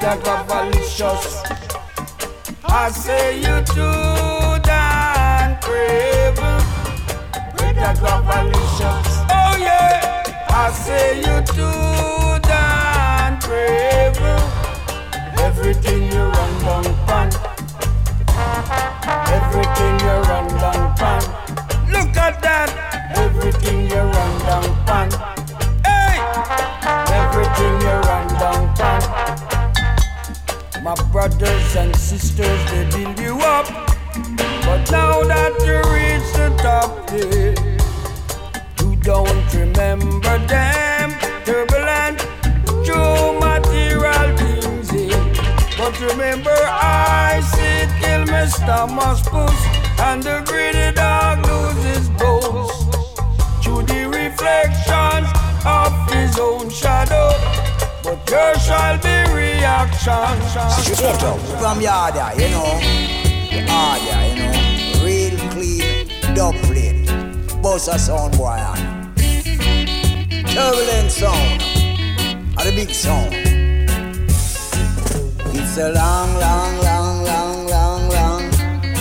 a cavalicious. I say you too damn craven with a cavalicious. Oh yeah, I say you too damn craven. Everything you run down pan. Everything you run down pan. Look at that. Everything you run down pan. Hey! Everything you run down pan. My brothers and sisters, they build you up. But now that you reach the top, yeah, you don't remember them. Turbulent, true material things, yeah. But remember I said kill Mister Muspus, and the greedy dog loses bones through the reflections of his own shadow. But there shall be reaction. Straight up from Yada, you know. Yada, you know. Real clean, dub plate. Bossa sound boy on. Turbulent sound. Or the big sound. It's a long, long, long, long, long, long.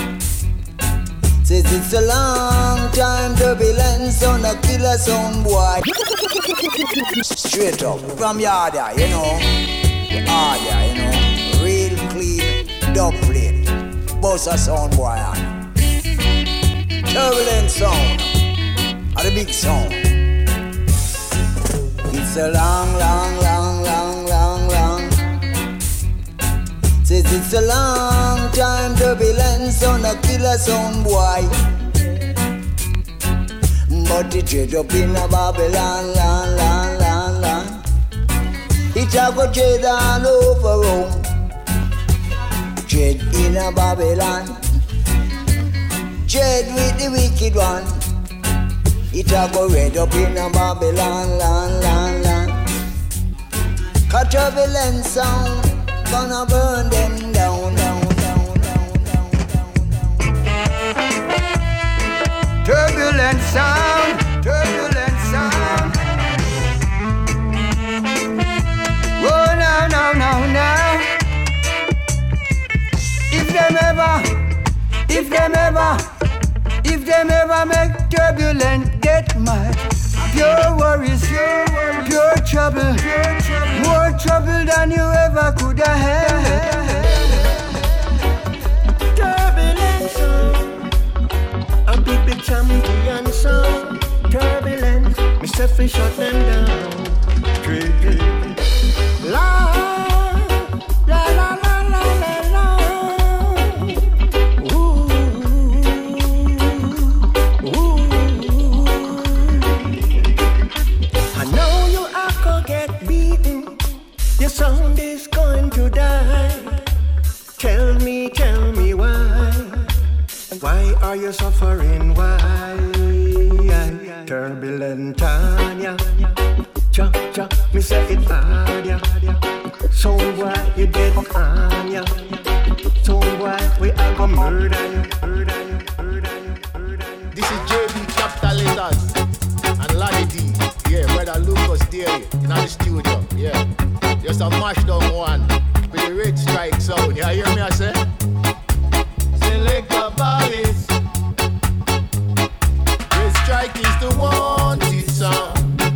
Says it's a long time. Turbulent sound, a killer sound boy. Straight up from Yada, you know. Yada, you know. Real clean, dub plate. Bossa sound boy on. Turbulent sound. Or the big sound. It's a long, long, long, long, long, long. Says it's a long time. Turbulent sound, a killer sound boy. But it trade up in a Babylon, land, land, land, land. It a go trade all over Rome. Trade in a Babylon. Trade with the wicked one. It a go red up in a Babylon, land, land, land. Cause turbulent sound gonna burn them down, down, down, down, down, down, down. Turbulent sound, turbulent sound. Oh, now, now, now, now. If them ever, if them ever, if them ever make turbulent get mad, pure worries, pure, worries, pure trouble, pure trouble, more trouble than you ever could have had. Turbulent sound, a big, big champion sound. Turbulent, me say fi shut them down. La, la, la, la, la, la, la. Ooh, ooh. I know you are gonna get beaten. Your sound is going to die. Tell me, tell me why. Why are you suffering? Why? Turbulent Tanya. Cha, cha, me say it hard, yeah. So why you dead on ya? So why we are gonna murder you, murder you, murder you, murder you. This is J B Capital Letters and Laddie D. Yeah, brother Lucas there in the studio. Yeah, just a mash down one with the Red Strike sound. You hear me I say? Select the valleys. Red Strike is the wanted sound.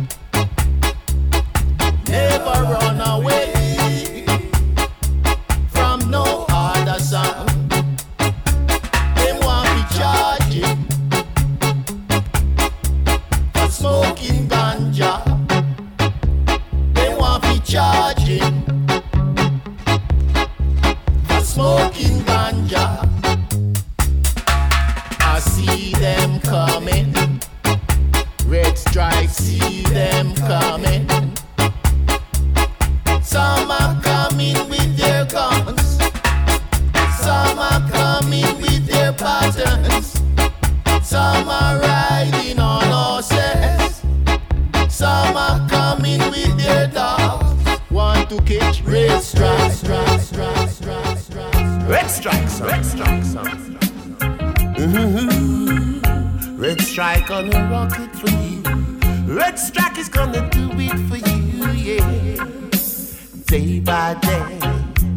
Never run away from no other sound. They want me charging for smoking ganja. They want me charging for smoking ganja. I see them coming. Red Strike, see them coming. Some are coming with their guns. Some are coming with their patterns. Some are riding on horses. Some are coming with their dogs. Want to catch red strikes. Red strikes. Red strikes. Mm-hmm. Red strike on a rocket for you. Red strike is gonna do it for you, yeah. Day by day,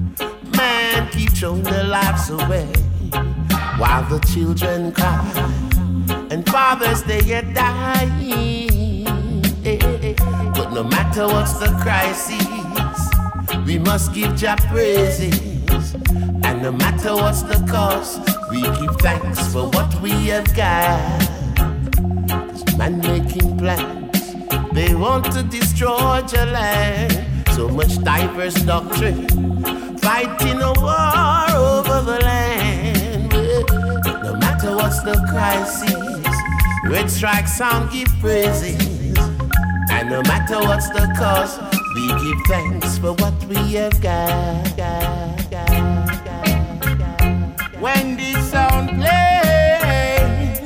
lives away while the children cry and fathers they get dying. But no matter what's the crisis, we must give Jah praises. And no matter what's the cost, we give thanks for what we have got. 'Cause man making plans, they want to destroy your land. So much diverse doctrine, fighting a war over the land. But no matter what's the crisis, Red Strike Sound give praises. And no matter what's the cost, we give thanks for what we have got. got, got, got, got. When this sound plays,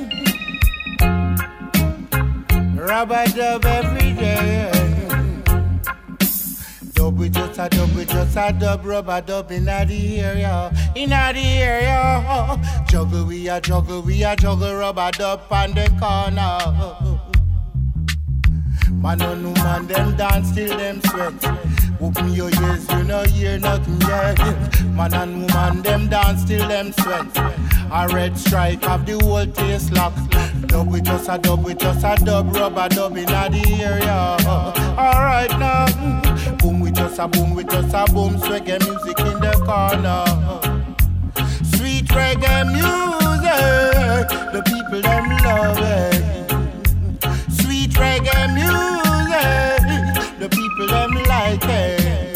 rub-a-dub every day. Dub we just a dub, we just a dub, rub-a-dub inna the area, inna the area. Juggle we a juggle, we a juggle, rub-a-dub on the corner. Man and woman, them dance till them sweat. Open your ears, you know hear nothing yet. Man and woman, them dance till them sweat. A Red Strike have the whole taste lock. Dub we just a dub, we just a dub, rubber dub inna the area. Alright now, boom we just a boom, we just a boom. Reggae music in the corner. Sweet reggae music, the people them love it. Sweet reggae music, the people them like it.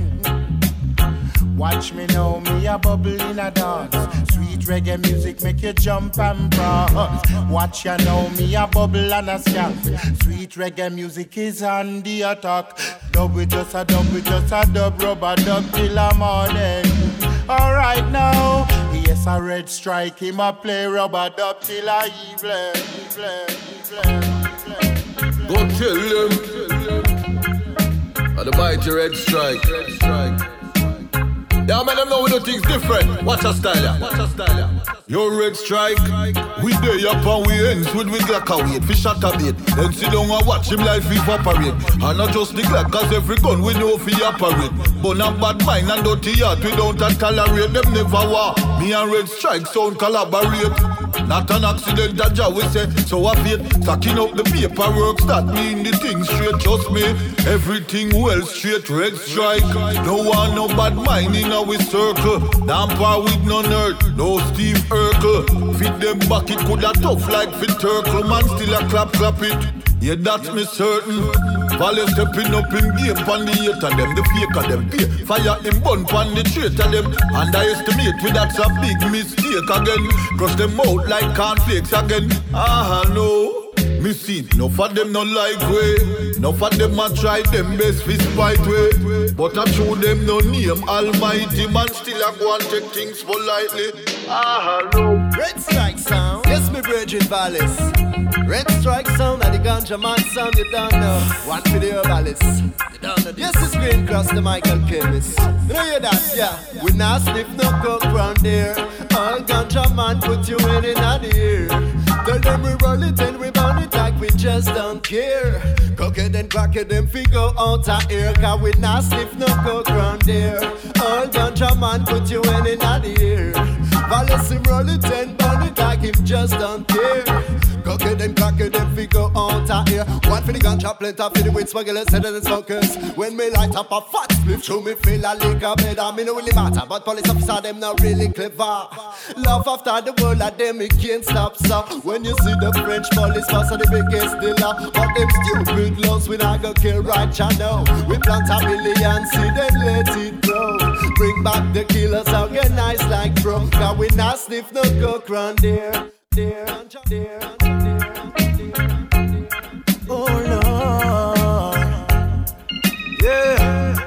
Watch me now, me a bubble in a dance. Sweet reggae music make you jump and prance. Watch ya now, me a bubble and a skank. Sweet reggae music is on the attack. Dub we just a dub, we just a dub, rubber dub till the morning. Alright now, yes a Red Strike, him a play rubber dub till a evening, evening, evening. Go tell them, and the mighty Red Strike. Red Strike. Yeah, man, them know we do things different. Watch our style, yeah. Watch our style, yeah. Yo, Red Strike, we day up and we ends with we Glock a wait, fish at a bait. Then sit down and watch him like FIFA operate. And not just the Glock, cause every gun we know fi operate. But not bad mind and dirty heart, we don't tolerate. Them never war, me and Red Strike sound collaborate. Not an accident, a job we say, so I feel. Stacking up the paperwork, start mean the thing straight, trust me. Everything well straight, Red Strike. No one, no bad mind in our circle. Damn par with no nerd, no Steve Urkel. Fit them back, it coulda tough like fit Turkle. Man still a clap, clap it. Yeah, that's me certain. Valley stepping up in game pan the eight of them. The fake of them pay. Fire him bun pan the traitor of them. Underestimate with that's a big mistake again. Crush them out like cornflakes again. Ah, no. Me see, no for them no like way. No for them a try them best fi spite way. But I show them no name Almighty. Man still a go and take things politely. Ah, no. Red Strike Sound. Yes, me Bridget Vallis. Red Strike Sound and the ganja man sound, you don't know. One for the herbalist, you don't know. Yes, it's Green Cross, the Michael Chemist. You know hear that, yeah. We not sniff no coke round there. All ganja man put you in in the ear. Tell them we roll it and we burn it like we just don't care. Cook it and crack it and figure out our ear. Cause we not sniff no coke round there. All ganja man put you in in the ear. Vallis him roll it and burn it like him just don't care. Cook it and crack it and figure out our ear. One for the ganja, plenty for the weed smugglers, settlers and smokers. When me light up a fat spliff, show me feel a liquor better. Me no really matter, but police officer them not really clever. Love after the world of them, it can't stop, so when you see the French police pass are the biggest dealer. But them stupid laws we not go kill right, ya know. We plant a million seed and let it grow. Bring back the killers, organized like drum. Cause we not sniff no coke round there. There, there, there. Oh Lord, yeah.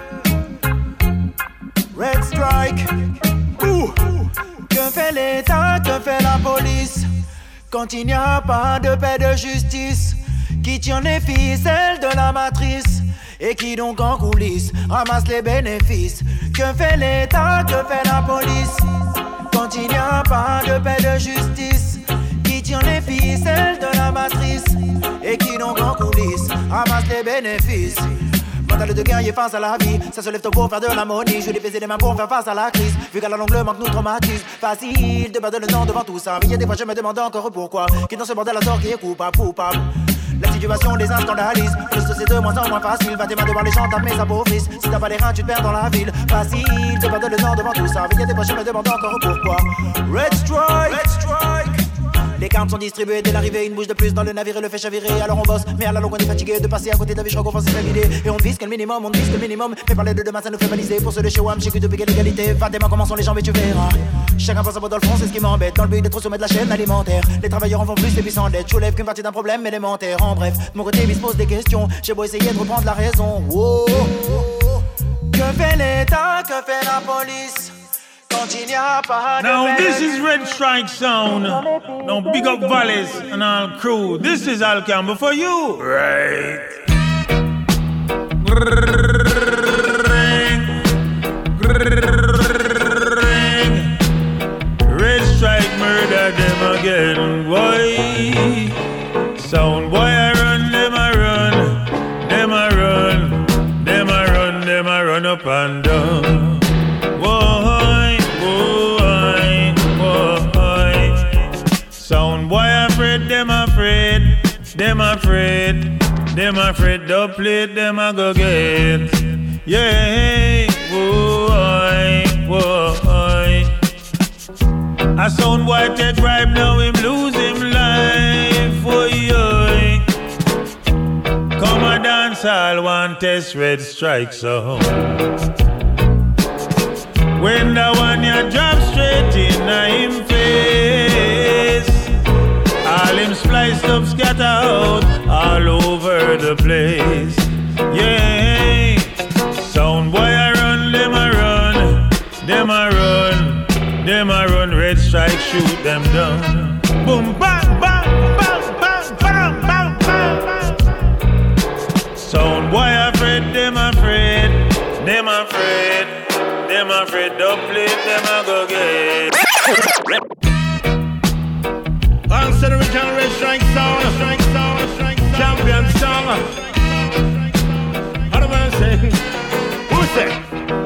Red Strike. Ouh. Que fait l'État, que fait la police quand il n'y a pas de paix de justice? Qui tient les ficelles de la matrice et qui donc en coulisses ramasse les bénéfices? Que fait l'État, que fait la police quand il n'y a pas de paix de justice? Qui tient les ficelles de la matrice et qui donc en coulisses ramasse les bénéfices? Mental Parle de guerrier face à la vie, ça se lève tôt pour faire de l'harmonie. Je vais baiser les mains pour faire face à la crise. Vu qu'à la longue le manque nous traumatise. Facile de perdre le temps devant tout ça. Mais il y a des fois je me demande encore pourquoi. Qui dans ce bordel à tort qui est coupable, coupable. La situation les scandalise. Plus c'est de moins en moins facile. Va tes mains devant les gens, tape mes apôphis. Si t'as pas les reins, tu te perds dans la ville. Facile de perdre le temps devant tout ça. Mais il y a des fois je me demande encore pourquoi. Red Strike, Red Strike. Les cartes sont distribuées dès l'arrivée, une bouche de plus dans le navire et le fait chavirer. Alors on bosse, mais à la longue on est fatigué de passer à côté d'un vie, je crois qu'on va s'éviter. Et on vise que le minimum, on vise que le minimum. Mais parler de demain ça nous fait baliser. Pour ceux de chez W A M, j'ai que de big l'égalité. Va des mains, comment sont les jambes et tu verras. Chacun pense à votre fond, c'est ce qui m'embête. Dans le but d'être au sommet de la chaîne alimentaire. Les travailleurs en font plus et puis s'endettent. Je soulève qu'une partie d'un problème élémentaire. En bref, de mon côté, il se pose des questions. J'ai beau essayer de reprendre la raison. Wow. Que fait l'État, que fait la police? Now this is Red Strike Sound. Now big up Valles and all crew. This is Al Campbell for you. Right. Red Strike murder them again. Boy. Sound boy I run, them I run. Them I run. Them I run, them I run up and down. Sound boy afraid, them afraid, them afraid, them afraid, don't play, them a go get. Yeah, boy, boy. A sound boy take bribe, now him lose him life, boy. Come a dance, all one test Red Strike sound. When the one you drop straight in a him face, all him spliced up, scatter out all over the place. Yeah, sound boy I run, them I run, them I run, them I run. Red Strike shoot them down. Boom, bang, bang, bang, bang, bang, bang, bang. Sound boy afraid, them afraid, them afraid, them afraid. Don't play, them I go get. Answer the original Red Strike Sound, Strike Sound, Strike Sound, champion song. How do I say? Who say?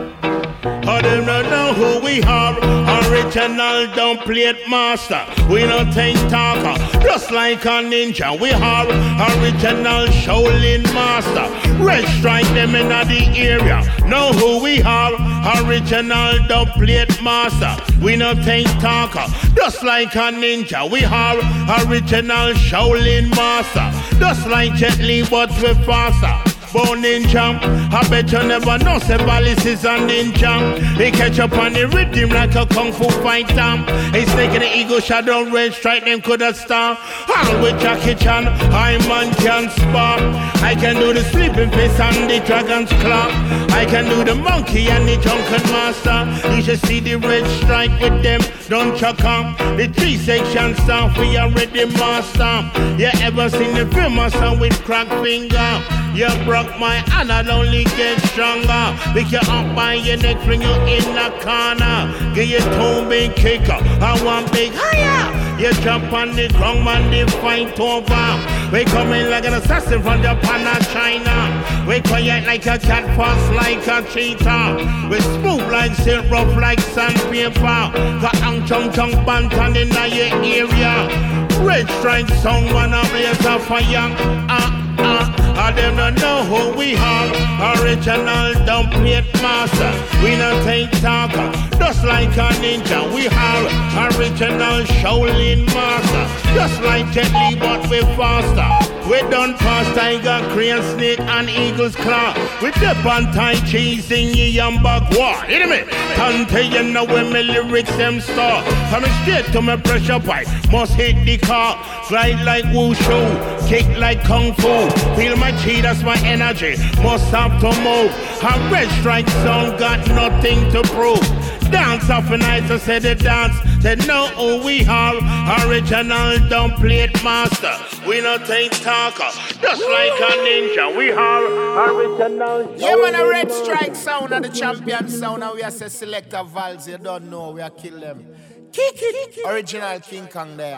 I don't know who we are. Original don't play it master. We don't think talker. Just like a ninja, we are original Shaolin master. Red Strike them in the area. Know who we are. Original don't play it master. We don't think talker. Just like a ninja, we are original Shaolin master. Just like Jet Li, but we faster. Born ninja, I bet you never know say Valis is a ninja. He catch up on the rhythm like a kung fu fighter. He's taking the ego shadow, Red Strike them coulda stop. All with Jackie Chan, I man can spar. I can do the sleeping face and the dragon's claw. I can do the monkey and the drunken master. You should see the Red Strike with them, don't chuck on. The three section stuff we already master. You ever seen the film master with crack finger? You broke my hand, I'll only get stronger. Pick you up by your neck, bring you in the corner. Give you two big kicker, I want big higher. You jump on the ground, man, they fight over. We come in like an assassin from Japan or China. We quiet like a cat, fast like a cheetah. We smooth like silk, rough like sandpaper. Got ang chung chung bantan in your area. Red Strike song, wanna blaze a fire. Uh, uh. I them don't know who we are. Original don't play it master. We not take talker. Just like a ninja, we are original Shaolin master. Just like Jet Li, but we faster. We done past tiger, crane, snake, and eagle's claw. We dip on Tai Chi, sing ye and back war. Hear me? Tante, you know when my lyrics them start. Coming straight to my pressure pipe, must hit the car. Glide like wushu, kick like kung fu. Feel my chi, that's my energy. Must have to move. A Red Strike song got nothing to prove. Dance off a night, I said the dance. Said know who we are. Original don't play it master. We not take talker. Just like a ninja, we are original. Yeah, man, a Red Strike sound and the champion sound. And we are say selector Vals, you don't know, we are kill them. Kick it. Original King Kong there.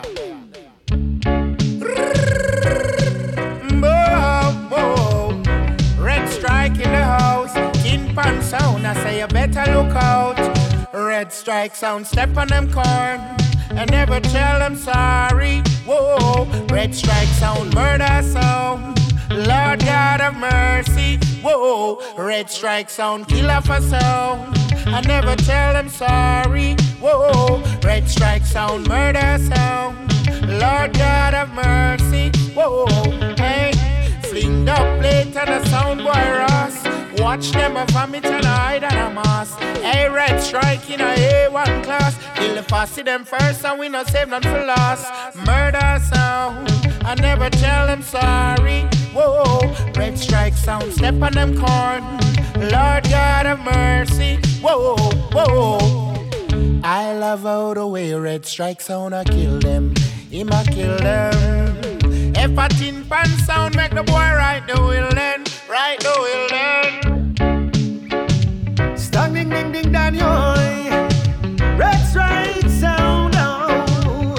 Whoa, whoa. Red Strike in the house. you better look out. Red Strike Sound, step on them corn and never tell them sorry. Whoa, Red Strike Sound, murder sound. Lord God of mercy. Whoa, Red Strike Sound, killer for sound. I never tell them sorry. Whoa, Red Strike Sound, murder sound. Lord God of mercy. Whoa, hey, flinged up late on the sound boy Ross. Watch them a vomit and a hide and a mass. Hey, Red Strike in a A one class. Kill the fussy them first and we not save none for loss. Murder sound, I never tell them sorry. Whoa, Red Strike Sound, step on them corn. Lord God of mercy. Whoa, whoa. I love how the way Red Strike Sound I kill them. Him I kill them. If a tin pan sound make the boy right the will then. Right the will then. Stang ding ding ding down your Red Strike Sound. Oh,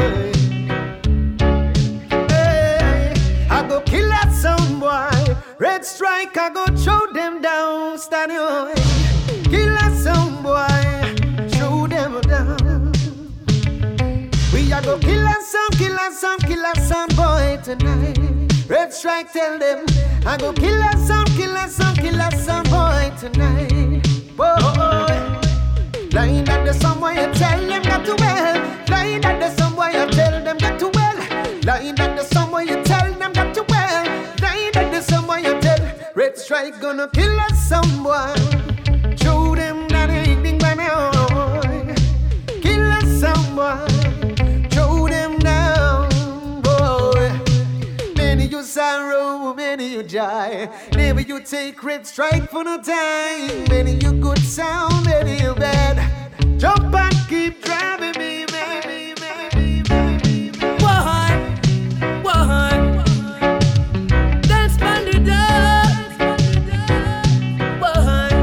hey, I go kill that sound boy. Red Strike, I go throw them down. Stand your kill that sound boy. Throw them down. We a go kill that sound, kill that sound, kill that sound boy tonight. Red Strike tell them I go kill that sound, kill that sound, kill that sound boy tonight. Boy, lying that the somewhere you tell them got to well. Lying that the somewhere you tell them got to well. Lying that the somewhere you tell them got to well. Lying that the somewhere you tell Red Strike gonna kill that sound boy. Show them that they ain't by now. Kill that sound boy. Show them down, boy. Many you sorrow, many you joy. Never you take Red Strike for no time. Many you good sound, many you bad. Jump and keep driving me, baby, baby, baby. Why? Why? Dance on the dance. Why?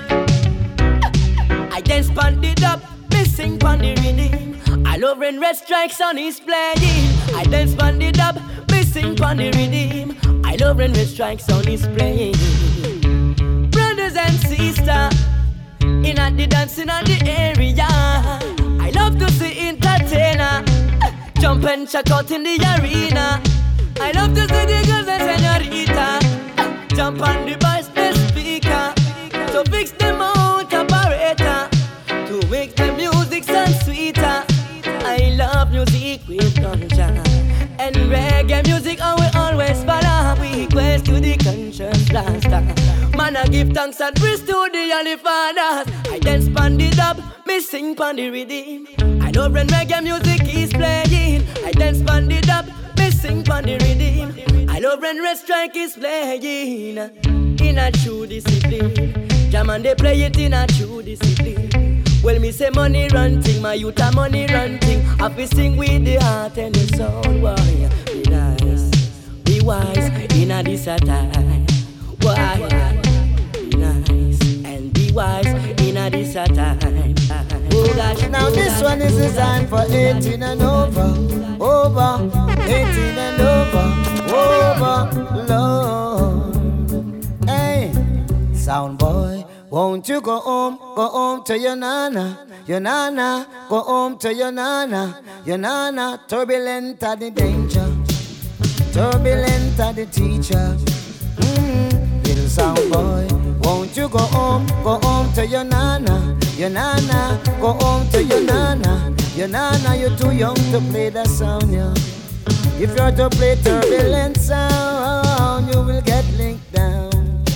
I dance on the dub, missing on the rhythm. I love when Red Strike Sound is playing. I dance on the dub, missing on the rhythm. I love when Red Strike Sound is playing. Brothers and sisters, in at the dancing on the area. I love to see entertainer jump and check out in the arena. I love to see the girls and señorita jump on the bass, the speaker, to fix them out operator, to make the music sound sweeter. I love music with ganja and reggae music, and we always follow. We quest to the conscious blaster. Man, I give thanks and praise to the Holy Fathers. I dance pon the dub, me sing pon the rhythm. I love when reggae music is playing. I dance pon the dub, me sing pon the rhythm. I love when Red Strike is playing. In a true discipline, jam and they play it in a true discipline. Well, me say money run thing, my youth a money run thing. I fi sing with the heart and the soul. Why? Be nice, be wise in a this a time. Why? Be nice and be wise in a this a time. Oh gosh, now this one is designed for eighteen and over, over, eighteen and over, over, Lord. Hey, sound boy, won't you go home, go home to your nana, your nana, go home to your nana, your nana. Turbulent are the danger, turbulent are the teacher. Mm, little sound boy, won't you go home, go home to your nana, your nana, go home to your nana, your nana. You're too young to play that sound, yeah. If you're to play turbulent sound, you will get linked down.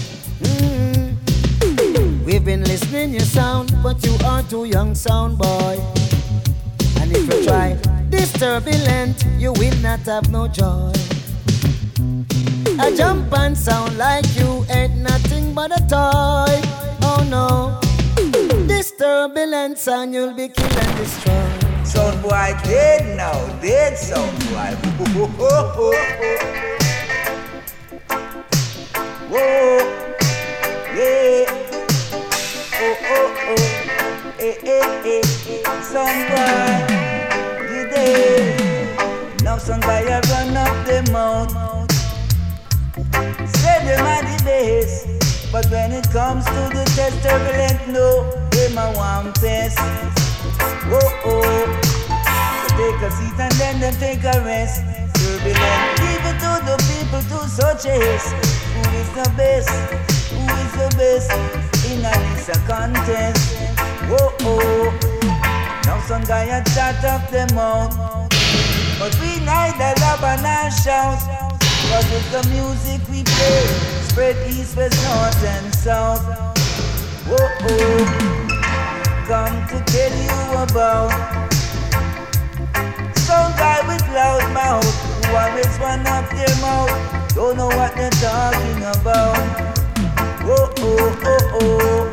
Mm. We've been listening your sound, but you are too young, sound boy. And if you try this turbulent, you will not have no joy. I jump and sound like you ain't nothing but a toy. Oh no, this turbulent sound you'll be kill and destroy. Sound boy dead now, dead sound boy. Whoa, yeah. Oh, oh, oh. Eh, eh, eh. Sound boy, you dead. Now sound boy you run up the mouth. Say them are the best. But when it comes to the test, turbulent, no, them a one test. Oh oh, so take a seat and then them take a rest. Turbulent, give it to the people to such chase. Who is the best? Who is the best in a Lisa contest? Oh oh, now some guy had shut up them out, but we neither love nor shout. Cause it's the music we play, spread east, west, north and south. Oh oh, come to tell you about some guy with loud mouth who always run up their mouth, don't know what they're talking about. Oh oh oh oh,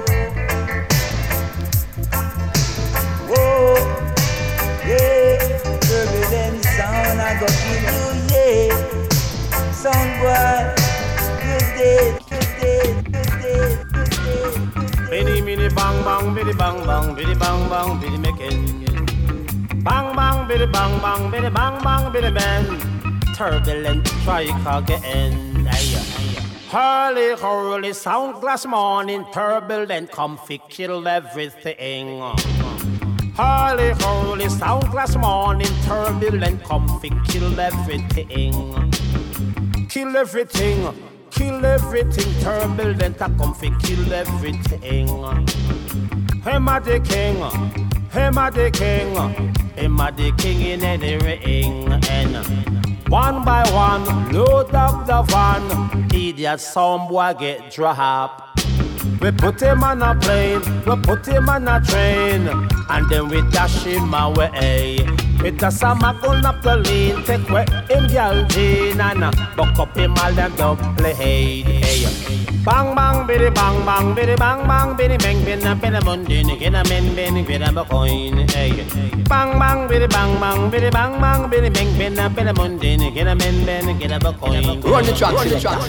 oh yeah, turbulent sound I go kill you, yeah. Sound boy, you dead, you dead, you dead, you dead. Biddy biddy bang bang, biddy bang bang, biddy bang bang, biddy making. Bang bang, biddy bang bang, biddy bang bang, biddy bang. Turbulent strike again. Hurly, hurly, sound glass morning, turbulent, comfy, kill everything. Hurly, hurly, sound glass morning, turbulent, comfy, kill everything. Kill everything, kill everything, turbulent, comfy, kill everything. Hammer the king, hammer the king, hammer the king in any ring. And one by one, load up the van, idiot some boy get dropped. We put him on a plane, we put him on a train, and then we dash him away. With a summer gun up the lane, take away him girl Jane, and buck up him all them double head. Hey. Bang bang, biddy bang bang, biddy bang bang, biddy bang, biddy bang, biddy mundin, get a men, biddy, biddy a coin. Hey. Bang bang, biddy bang bang, biddy bang bang, biddy bang, biddy, biddy mundin, get a men, biddy, get a coin. Run the track, run the track.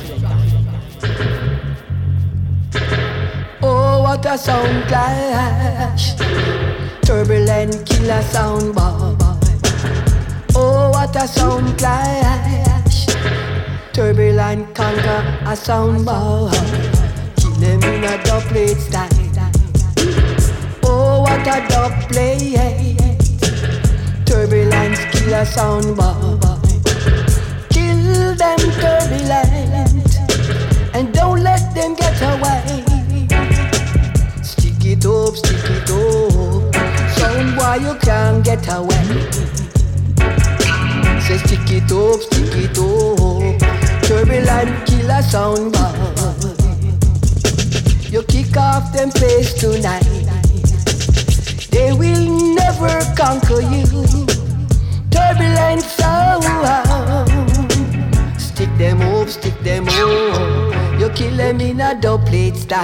Oh, what a sound clash! Turbulent killer sound boy. Oh, what a sound clash! Turbulent conquer a sound boy. Kill them in a dub plate style. Oh, what a dub plate! Turbulent killer sound boy. Kill them turbulent and don't let them get away. Stick it up, stick it up. Sound boy, you can't get away. Say stick it up, stick it up. Turbulent killer sound boy. You kick off them face tonight. They will never conquer you. Turbulent sound. Stick them up, stick them up. You kill them in a dub plate style.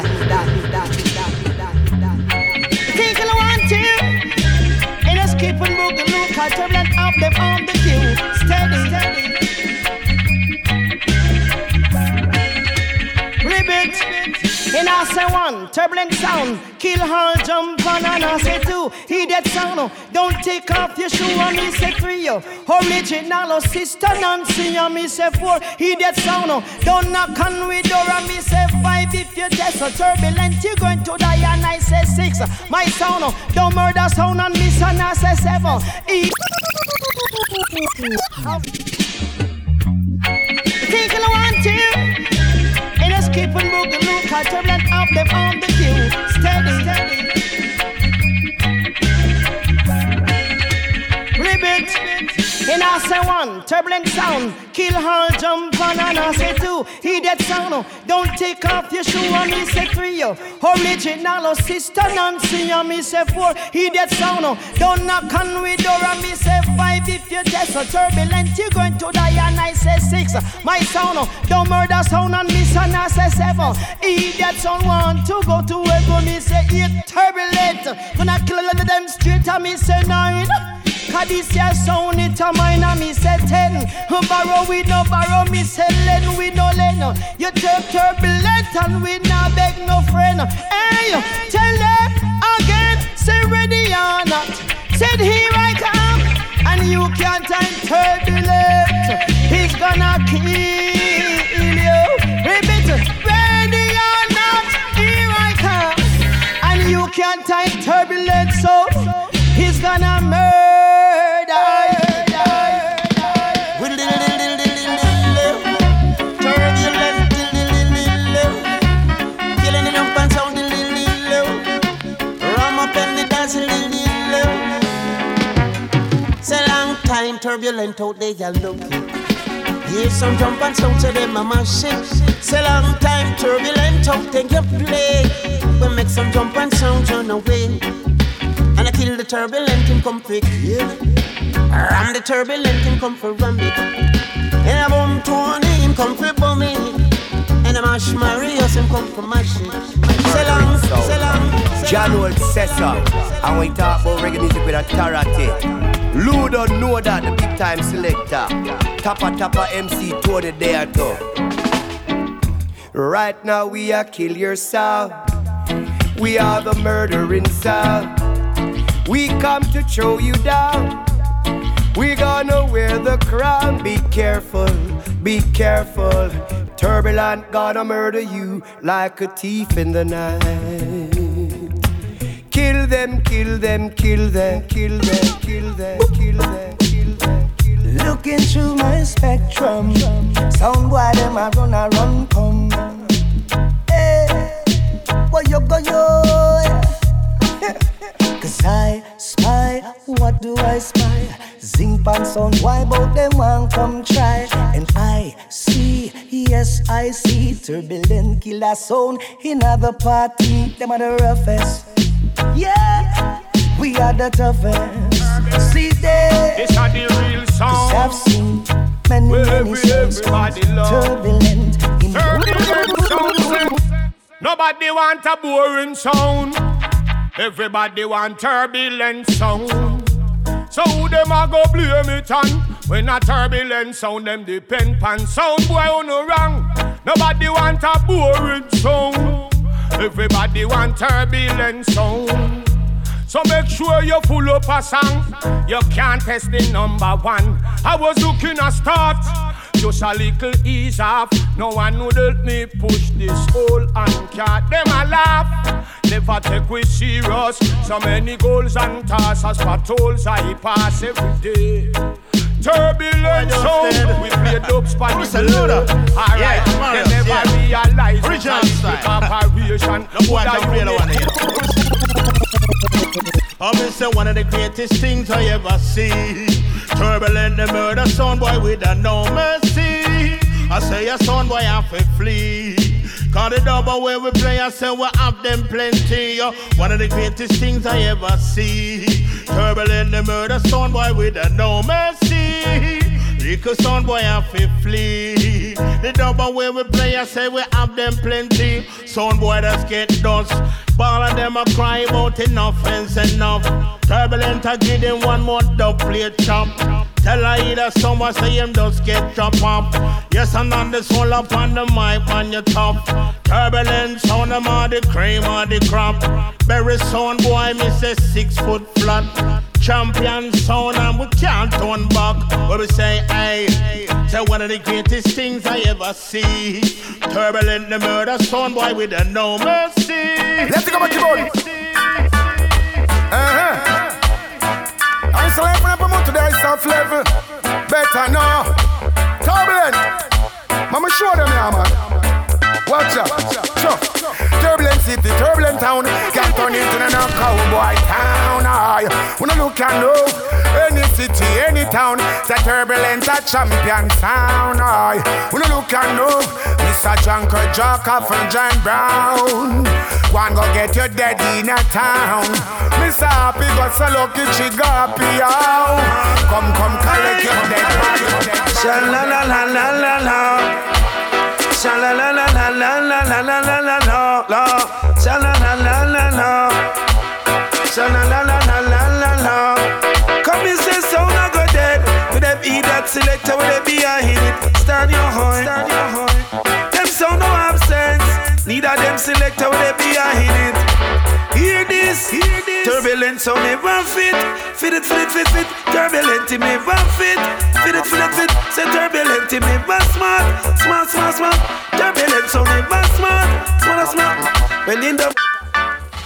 Think you want to? And just keep on moving, look how turbulent up them on the queue. Steady, steady. Ribbit. And I say one, turbulent sound. Kill her, jump on, and I say two. He that sound, don't take off your shoe, and me say three. Original, sister Nancy, and me say four. He that sound, don't knock on with door, and me say five. If you test a turbulent, you're going to die, and I say six. My sound, don't murder sound, and me son, I say seven. E- Think you want to? And just keep on moving, look how turbulent up them on the queue. Steady, steady. Ribbit. And I say one, turbulent sound. Kill her, jump on, and I say two. He that sound, don't take off your shoe, and me say three. Original, sister Nancy, and me say four. He that sound, don't knock on with door, and me say five. If you test a turbulent, you're going to die, and I say six. My sound, don't murder sound, and me son, I say seven. He that sound want to go to heaven, me say eight. Turbulent, when I kill them straight, and me say nine. Cause this year sound it a mine, and me say ten. Borrow we no borrow, me say lend we no lend. You take turbulent and we no beg no friend. Hey, tell them again, say ready or not. Said here I come, and you can't time turbulent. He's gonna kill you. Repeat, ready or one time turbulent soul. He's gonna murder. Turbulent, killing the jump and sound, ram up and the dance, say long time turbulent out there, you looking. Hear some jump and sound, say them a machine. Say long time turbulent out there, you play. We make some jump and sound, run away. And I kill the turbulent, him come for kill. Ram the turbulent, him come for ram it. And I bomb Tony, him come for bomb it. And I mash Marius, him come for mash it. Say long, say long. John Old Cesar, and we talk about reggae music with authority. Lou don't know that, the big time selector. Tappa Tappa M C Tony there too. Right now we are kill yourself. We are the murdering sound. We come to throw you down. We gonna wear the crown. Be careful, be careful. Turbulent gonna murder you like a thief in the night. Kill them, kill them, kill them, kill them, kill them, kill them, kill them, kill them. Looking through my spectrum, sound boy them a run a run come. Hey, what you go yo? Cause I spy, what do I spy? Zing pan sound, why bout them one come try? And I see, yes I see, turbulent killer sound in other party. Them are the roughest. Yeah, we are the toughest. See there, this are the real song. Cause I've seen many, well, many songs turbulent. Turbulent sound. Nobody want a boring sound. Everybody want turbulent sound. So who them a go blame it on? When a turbulent sound, them depend pan sound. Boy, on no wrong. Nobody want a boring sound. Everybody want turbulent sound. So make sure you full up a song. You can't test the number one. I was looking a start, just a little ease off. No one would help me push this whole anchor. Them a laugh, never take we serious. So many goals and tasks as patrols I pass every day. Turbulent sound, we play dubs by the blood. Alright, they never realize original style. Operation. No boy can play the one here. I'm say one of the greatest things I ever see. Turbulent, the murder sound boy with a no mercy. I say a sound boy have to flee. Cause the double where we play, I say we have them plenty. One of the greatest things I ever see. Turbulent, the murder sound boy with a no mercy. Because sound boy have to flee. The double where we play, I say we have them plenty. Sound boy just get dust. Ball of them a cry about enough ends enough. Turbulent I give them one more dub plate chop. Tell her either someone say him just get chop up. Yes, and on the soul up on the mic on your top. Turbulent sound them all the cream or the crop. Berry sound boy me say six foot flat. Champion sound and we can't turn back. Where we say hey, say one of the greatest things I ever see. Turbulent the murder sound boy with a no mercy. Let's go back to body. Uh-huh. I'm so level up a month today, soft level. Better now. Turbulent. Mama show them here, man. Watch out. Sure. Turbulent city, turbulent town. Can't turn into a cowboy town. Aye. When I look and look, any city, any town, the turbulent a champion sound. Aye. When I look and look, Mister Junker Joker from John Brown. One go get your dead in a town. Mister Happy got so lucky she got out. Come, come, collect your dead body. Sha la la la la la la. Sha la la la la la la la la la la la. Sha la la la la la. Sha la la la la la la la. Come and say sound I go dead. With them eat that selector with them behind it. Stand your horn. Stand your horn. Them sound no have sense. Neither them selector with them behind it. Hear this, hear this. Turbulent sound never fit. Fit it, fit it, fit it. Turbulent it never fit. Fit it, fit it, fit. Say turbulent it never smart. Smart, smart, smart. Turbulent sound never smart. Smart, smart. Well in the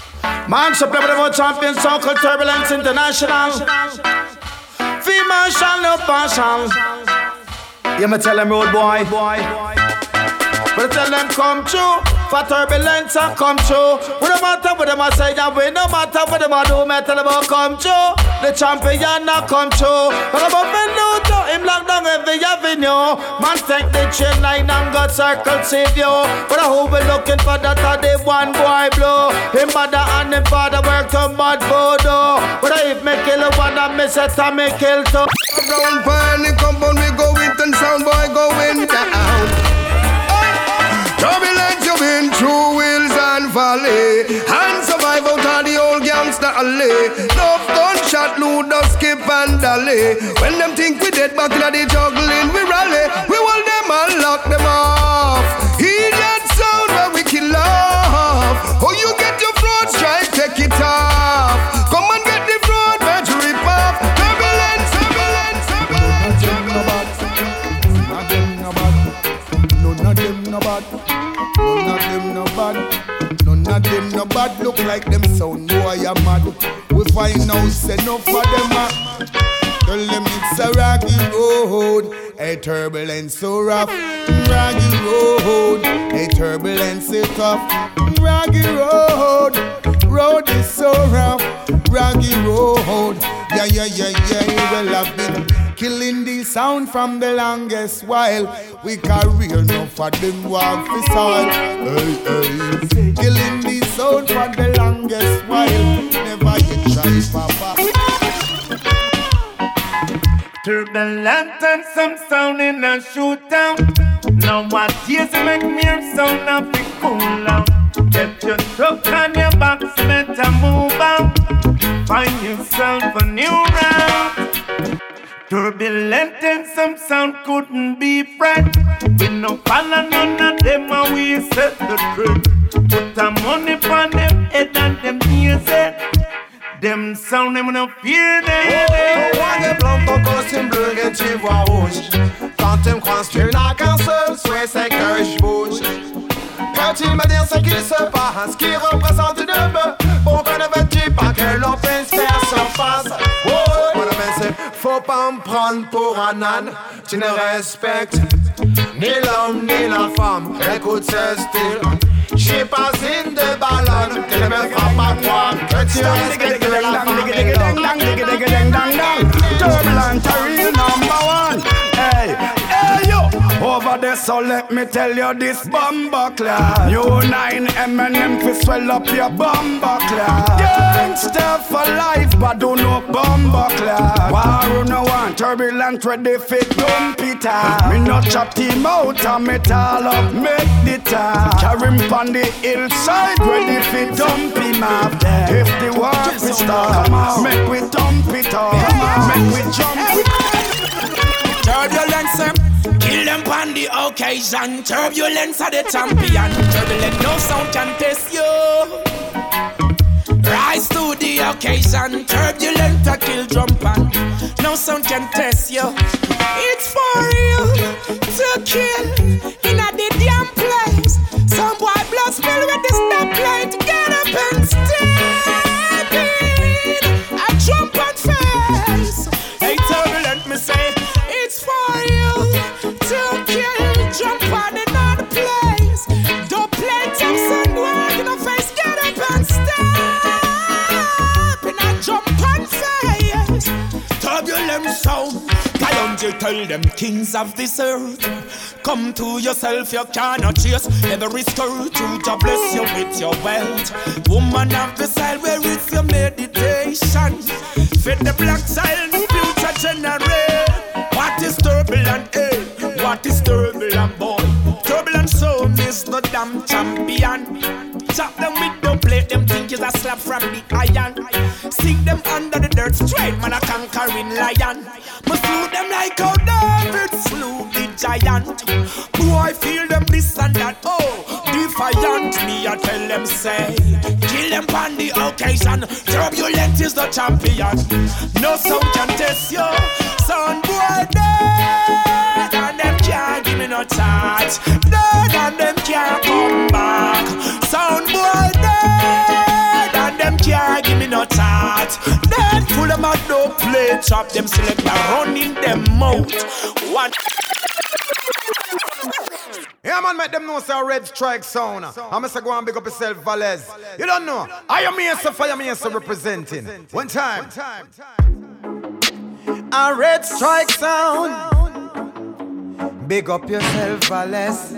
Man, so play with the world champion, Circle Turbulence International. Female shall no partial. You me tell them road boy, boy. But tell them come true. For turbulence and come true. We no matter what them a say, and we no matter what them a do. Me tell them about come true. The champion not come true. But I'm up and low to him lock down every avenue. Man take the chain line and got circle save you. But I hope we looking for that a the one boy blow. Him mother and him father work to mad voodoo. But if me kill one and me set and me kill two. Round panic compound we go with and sound boy going down. Turbulence you've been through hills and valley and survive out of the old gangster alley. Enough gunshot, loot, skip and dally. When them think we dead back in the juggling, we rally. We hold them and lock them off. Hear that sound where we kill off. Oh, you get your throat strike, take it off. Come and get the throat, man, to rip off. Turbulence, turbulence, turbulence. None of them no bad. None of them no bad. None of them no bad. Look like them sound boy a mad. We find out say enough for them a. Tell them it's a rocky road. A turbulence so rough. Rocky road. A turbulence so tough. Rocky road. Road is so rough. Rocky road. Yeah, yeah, yeah, yeah. Well, I've been killing the sound from the longest while. We career enough for them walk for soil. Hey, hey. Killing the sound for the longest while. Never you try, papa. Turbulent and some sound in a shootout. Now what years make me sound of the cool out. Get your truck on your box, better move out. Find yourself a new route. Turbulent and some sound couldn't be friend. We no follow none of them and we set the truth. Put the money on them head and them ears it. Them sound them no fear them. Roi des blancs, ton costume bleu et tu vois rouge. Quand tu me croises, tu n'as qu'un seul souhait, c'est que je bouge. Peux-tu me dire ce qui se passe, qui représente de me? Pourquoi ne veux-tu pas que l'on puisse faire surface? Oh, mon avis, c'est faut pas me prendre pour un âne. Tu ne respectes ni l'homme ni la femme. Écoute ce style. J'suis pas une de ballon. Tu ne me feras pas croire que tu respectes la femme et l'homme. Turbulent, a real number one. Hey, hey yo. Over there, so let me tell you this bomber class. You nine M and M fi swell up your bomber class. Gangsta for life, but do no bomber class. War no one, turbulent ready fi dump it out. Me not chop him out and me tall up, make the talk. Carry him pon the hillside, ready fi dump him off. If the war fi start, make we dump it off. Make we jump it. Turbulence, kill them on the occasion. Turbulence are the champion. Turbulent, no sound can test you. Rise to the occasion. Turbulent, a kill jump on. No sound can test you. It's for real to kill in a the damn place. Some boy blood spill with the stoplight. Get up and step in. I jump on face. Hey, turbulent, me say. It's for you to kill, jump on another place. Don't play tough, son, work in the face, get up and step. And I jump on face. Turbulent sound. Kalonji tell them kings of this earth. Come to yourself, you cannot chase every skirt. You to bless you with your wealth. Woman of the side, where it's your meditation. Fit the black child, future generation. What is turbulent, eh? What is turbulent, boy? Turbulent soul is the damn champion. Chop them with the plate, them think is a slap from the iron. Sink them under the dirt, straight man a conquering lion. Must slew them like how David slew the giant. Boy, feel them this and that, oh, defiant. Me I tell them say, kill them on the occasion. Turbulent is the champion. No sound can test you. Sound boy dead, and them can't give me no charge. Dead and them can't come back. Sound boy dead, and them can't no thought. Then pull them out, no play, chop them, select my running them mouth. One. Yeah, man, make them know say a Red Strike sound. I'm going to go and big up yourself, Valez. You don't know. I am here, so fire me here, so representing. One time. A Red Strike sound. Big up yourself, Valez.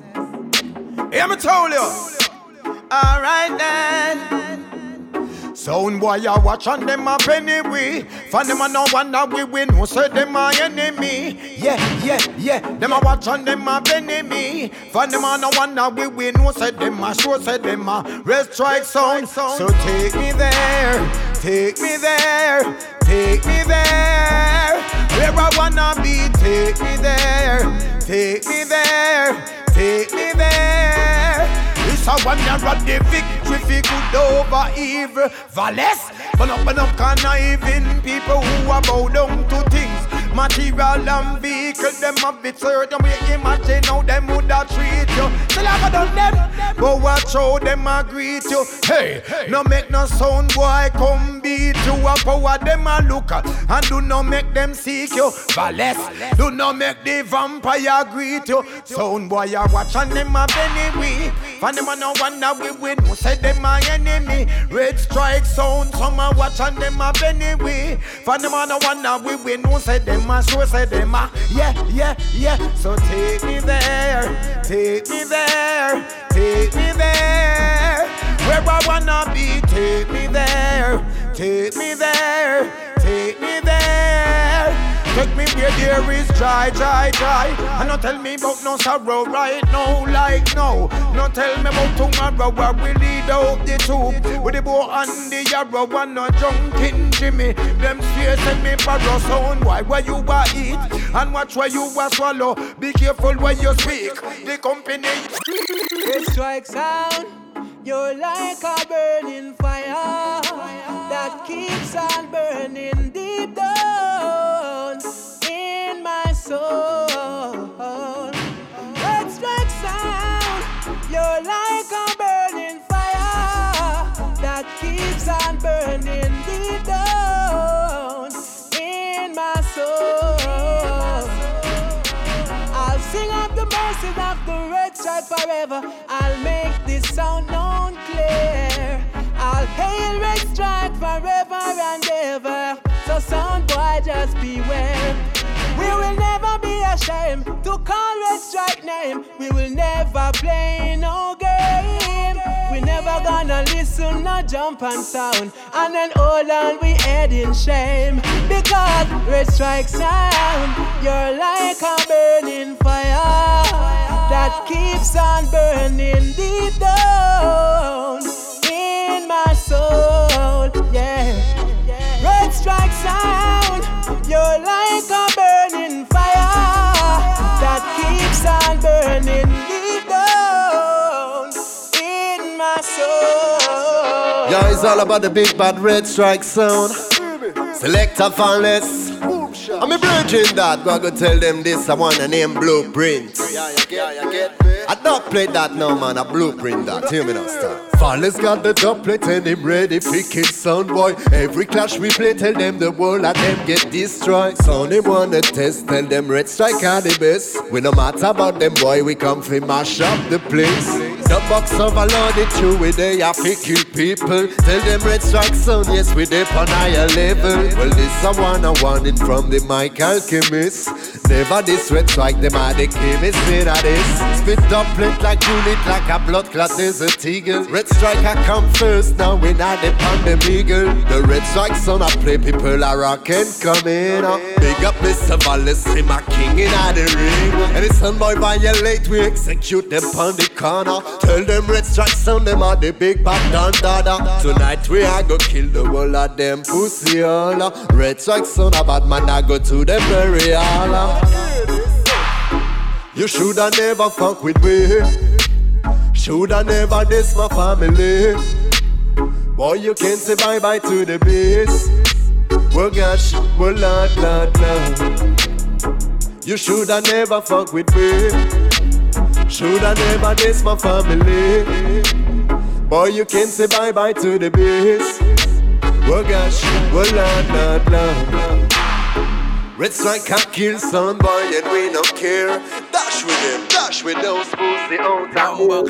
Hear me tell you. Alright then. Sound boy, you watch on them a penny we. For them a no one that we win, who say them a enemy. Yeah, yeah, yeah. Them a watch on them a penny me. For them a no one that we win, who say them a sure say them a Red Strike sound. So take me there, take me there, take me there. Where I wanna be, take me there, take me there, take me there. It's a one that run the victory for good over evil. Valles, burn up, burn up, conniving people who are bow down to things. Material and vehicle, them a bit certain. We imagine how them would have treat you. Still I done them, but watch how them a greet you. Hey, hey, no make no sound boy come beat you. A power them a look at, and do not make them seek you. Valles, do not make the vampire greet you. Sound boy a watch and them a penny we. And them a no one that we win, who say them a enemy. Red Strike sound, some a watch and them a penny we. And them a no one that we win, who say them a sure say them a yeah, yeah, yeah. So take me there, take me there, take me there. Where I wanna be, take me there, take me there, take me there. Take me where there is dry, dry, dry. And don't tell me about no sorrow right now, like no. Don't tell me about tomorrow where we lead out the tube. With the bow and the arrow and no drunken Jimmy. Them fears send me barrow sound. Why where you a eat and watch where you a swallow. Be careful when you speak. The company. Red Strike sound. You're like a burning fire that keeps on burning deep down in my soul. Red Strike sound. You're like a burning fire that keeps on burning deep down in my soul. I'll sing of the mercies of the Red Strike forever. I'll make this sound known clear. I'll hail Red Strike forever and ever. So sound boy, just beware. We will never be ashamed to call Red Strike name. We will never play no game. We never gonna listen, no jump and sound. And then hold on, we head in shame. Because Red Strike sound, you're like a burning fire that keeps on burning deep down in my soul, yeah. Red Strike sound, you're like a burning fire that keeps on burning deep down in my soul. Yo, it's all about the big bad Red Strike sound. Selector Fanless. I'm a virgin that go go tell them this. I want a name Blueprint. Yeah, you get, you get me. I don't play that no man, a Blueprint that. Hear me now, star. Fallis got the doublet and him ready for kill sound boy. Every clash we play, tell them the world and them get destroyed. Sound him wanna test, tell them Red Strike are the best. We no matter about them boy, we come fi mash up the place. The box of a loaded through with they have to kill people. Tell them Red Strike sound, yes we dey on higher level. Well this a one a warning from the mic alchemist. Never this Red Strike, them are the chemists in a this. Spit up plate like unit like a blood clot desert eagle. Red Strike I come first, now we not the pandem eagle. The Red Strike sound I play, people are rockin' coming up. Big up Mister Wallace, him a king in the ring. And the son boy violate, we execute them on the corner. Tell them Red Strike sound, them are the big bad dan dada. Tonight we are go kill the whole of them pussy all. Red Strike sound, a bad man I go to the burial. You shoulda never fuck with me. Shoulda never diss my family. Boy, you can't say bye bye to the beast. Well, gosh, well, lord, lord, lord. You shoulda never fuck with me. Shoulda never diss my family. Boy, you can't say bye bye to the beast. Oh gosh, oh lord, lord, lord. Red Strike can't kill son boy and we don't care. Dash with them, dash with those pussy out and move.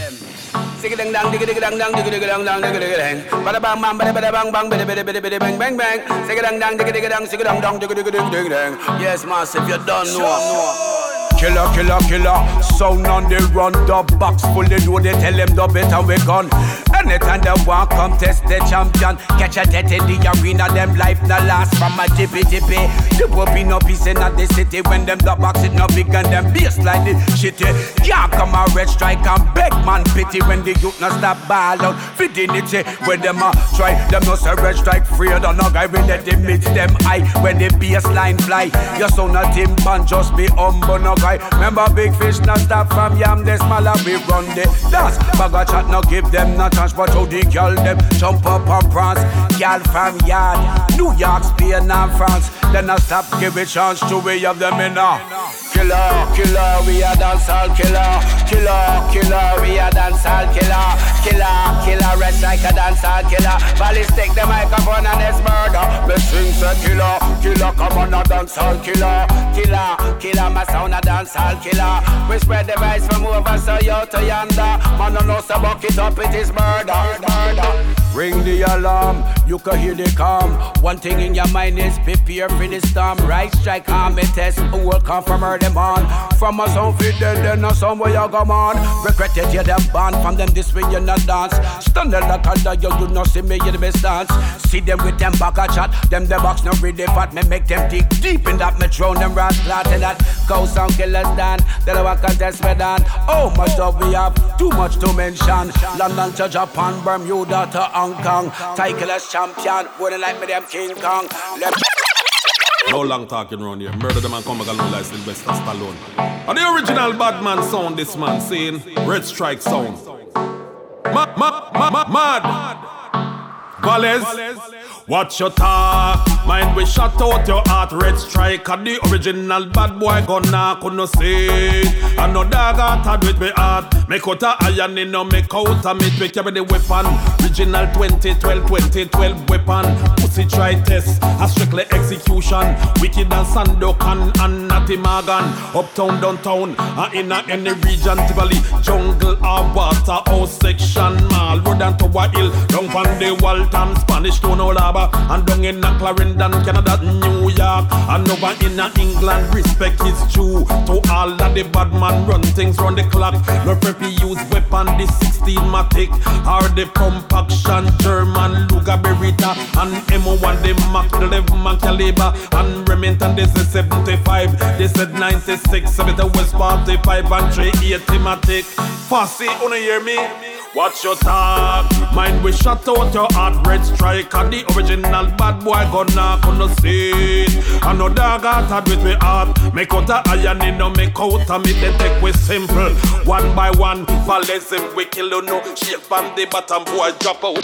Sing it dang dang, digga digga dang dang, digga digga dang dang, digga digga dang. Bada bang bang, bada bada bang bang, bada bada bada bada bang bang bang. Sing it dang dang, digga digga dang, sing it dang dang, digga digga digga digga dang. Yes, massive, you don't know. Killer, killer, killer. Sound on the run, the box fully loaded. Tell them the better we gone. Anytime they want come test the champion. Catch a death in the arena, them life no last from a tippy tippy. The will be no peace in the city when them the box it no big and them bass like the shitty. Can't come a Red Strike and beg man pity when the youth no stop ball out. Fidelity when them a try, them no say Red Strike free. Or no guy will let them mix them high when the bass line fly. Your son a team pan just be humble no guy. Remember big fish not stop from yam the smaller we run the dance. Bag a chat no give them no chance. But how the girl them jump up and prance. Girl from yard, New York, Spain and France. Then I stop give a chance to we have them in now. Killer, killer, we a dancehall killer. Killer, killer, we a dancehall killer. Killer, killer, Red Strike a dancehall killer. Valleys take the microphone and it's murder. Me sing say killer, killer, come on a dancehall killer. Killer, killer, my sound a dancehall killer. We spread the vibes from over so you to yonder. Man no know so buck it up, it is murder, murder. Ring the alarm, you can hear the calm. One thing in your mind is prepare for the storm. Right Strike arm me test, who will come from her them on. From a sound fit then then a sound where you come on. Regret it you them born from them this way you not dance. Stand there like a you do not see me in the best dance. See them with them back a chat, them the box no really fat. Me make them dig deep in that me throw them rat flat in that. Go sound killers down, then I contest me down. Oh much stuff we have, too much to mention. London to Japan, Bermuda to Hong Kong. Titleless champion, wouldn't like me them King Kong. Let no long talking around here. Murder the man come back alone like Sylvester Stallone. And the original bad man sound this man saying Red Strike sound. Mad, mad, mad, mad. Valles, watch your talk. Mind we shut out your heart. Red Strike and the original bad boy gonna couldn't say. And no dog heart with me heart. Make out a iron in no make out a meat. We carry the weapon. Original twenty twelve, twenty twelve weapon. Pussy try test, a strictly execution. Wicked and Sandokan and Natty Morgan. Uptown, downtown, and in a any region. Tivoli, jungle or water house section. Mall, road and Tower Hill. Down on the Walton, Spanish Town, Olaba. And down in a Clarendon, Canada, New York. And over in a England, respect is due to all of the bad man run things round the clock. No preppy use weapon, the sixteen Matic. Or the pump action, German Luger Beretta. And M one, the Mac eleven man caliber. And Remington, this is seventy-five. This is ninety-six, seventy West forty-five. And three eighty Matic. Fussy, wanna hear me? Watch your talk. Mind we shut out your heart. Red Strike and the original bad boy gonna couldn't see it. And no dog heart with me heart. Make out a iron in no make out a me they take we simple. One by one, Valles him we kill you no. Shake from the bottom boy drop out.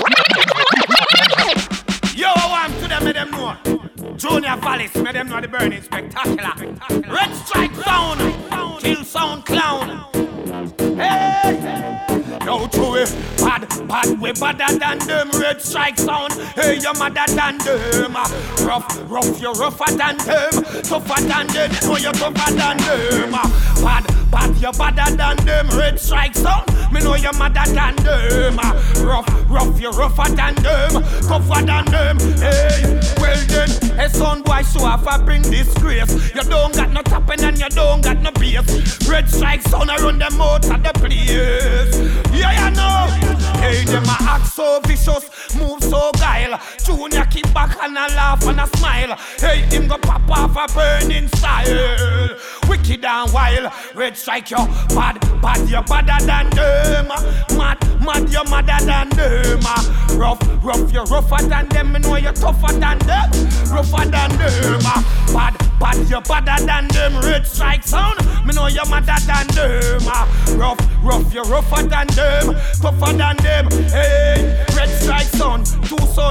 Yo, I want to them, make them know. Junior Valles, make them know the burning spectacular. Red Strike sound, kill sound clown. Hey, yo, true it, bad, bad, we badder than them. Red Strike sound, hey, you madder than them. Rough, rough, you rougher than them. Tougher than them, no, you tougher than them. Bad, bad, you badder than them. Red Strike sound, me know you madder than them. Rough, rough, you rougher than them. Tougher than them, hey. Well then, a son boy show off, I bring disgrace. You don't got no tapping and you don't got no bass. Red Strike sound around them out of the place. Yeah, you know. Hey, them a act so vicious, move so guile. Junior keep back and a laugh and a smile. Hey, him go pop off a burning style. Wicked and wild. Red Strike you bad, bad you badder than them. Mad, mad you madder than them. Rough, rough you rougher than them. Me know you tougher than them. Rougher than them. Bad, bad you badder than them. Red Strike sound. Me know you madder than them. Rough, rough you rougher than them. Tougher than them. Hey, Red Strike sound. Two son in a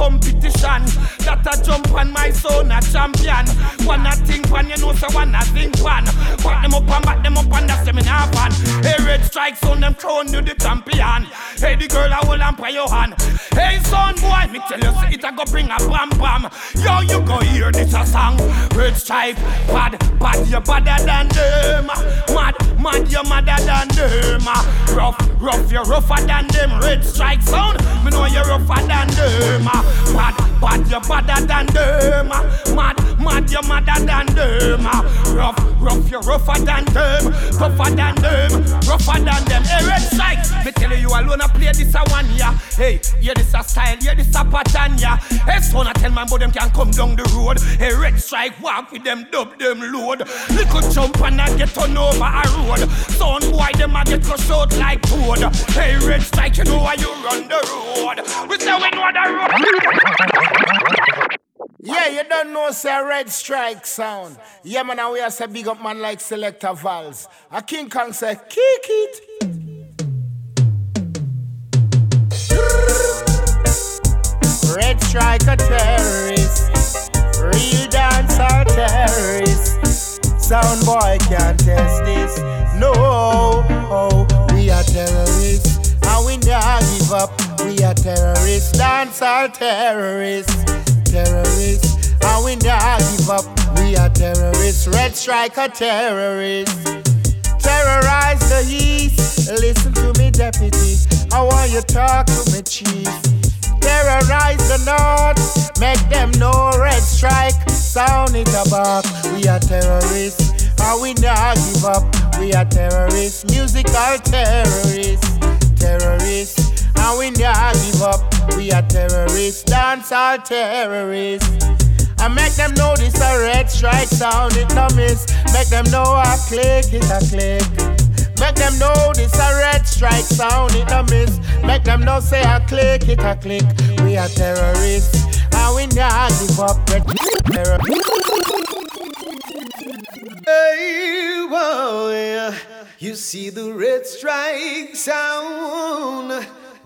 competition. That a jump on my son a champion. One a think one, you know, so one a think one. Back them up and back them up and that's them in half one. Hey, Red Strike son, them crown you the champion. Hey, the girl a hold and pray your hand. Hey, son boy, me tell you, see it a go bring a bam bam. Yo, you go hear this a song. Red Stripe, bad, bad, you badder than them. Mad, mad, you madder than them. Rough, rough, you rougher than them. Red Strike sound, me know you rougher than them. Bad, bad, you badder than them. Mad, mad, you madder than them. Rough, rough, you rougher than them. Tougher than them, rougher than them. Hey, Red Strike, me tell you, you alone a play this a one ya. Hey, yeah, this a style, yeah, this a pattern ya. Hey, son, I tell man, but them can come down the road. Hey, Red Strike, walk with them, dub them load. Little jump and I get turn over a road. Son boy, them a get crushed out like toad. Hey, Red Strike, you know why you run the road. We say we know the road. Yeah, you don't know, say Red Strike sound. Yeah, man, and we are say big up man like Selector Vals. A King Kong say, kick it. Red Strike a terrorist. Real dancer terrorist. Sound boy can't test this. No, oh, we are terrorists. And we never give up. We are terrorists. Dancer terrorists. Terrorists, and we never give up. We are terrorists. Red Strike a terrorist. Terrorize the East. Listen to me, deputy. I want you talk to me, chief. Terrorize the North. Make them know Red Strike. Sound it about. We are terrorists, and we never give up. We are terrorists. Musical terrorists. Terrorists. And we never give up, we are terrorists, dancehall terrorists. And make them know this a Red Strike sound, it no miss. Make them know I click, it a click. Make them know this a Red Strike sound, it no miss. Make them know say I click, it a click. We are terrorists, and we never give up, Red terrorists. Hey, boy, you see the Red Strike sound.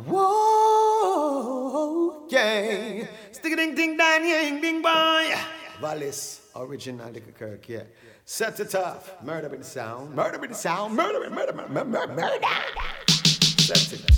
Whoa, yeah. Stick a ding ding dang ding ding boy. Valis, original Liquor Kirk, yeah. Set it off. Murder with the sound. Murder with the sound. Murder with murder, murder, murder, murder. Set it.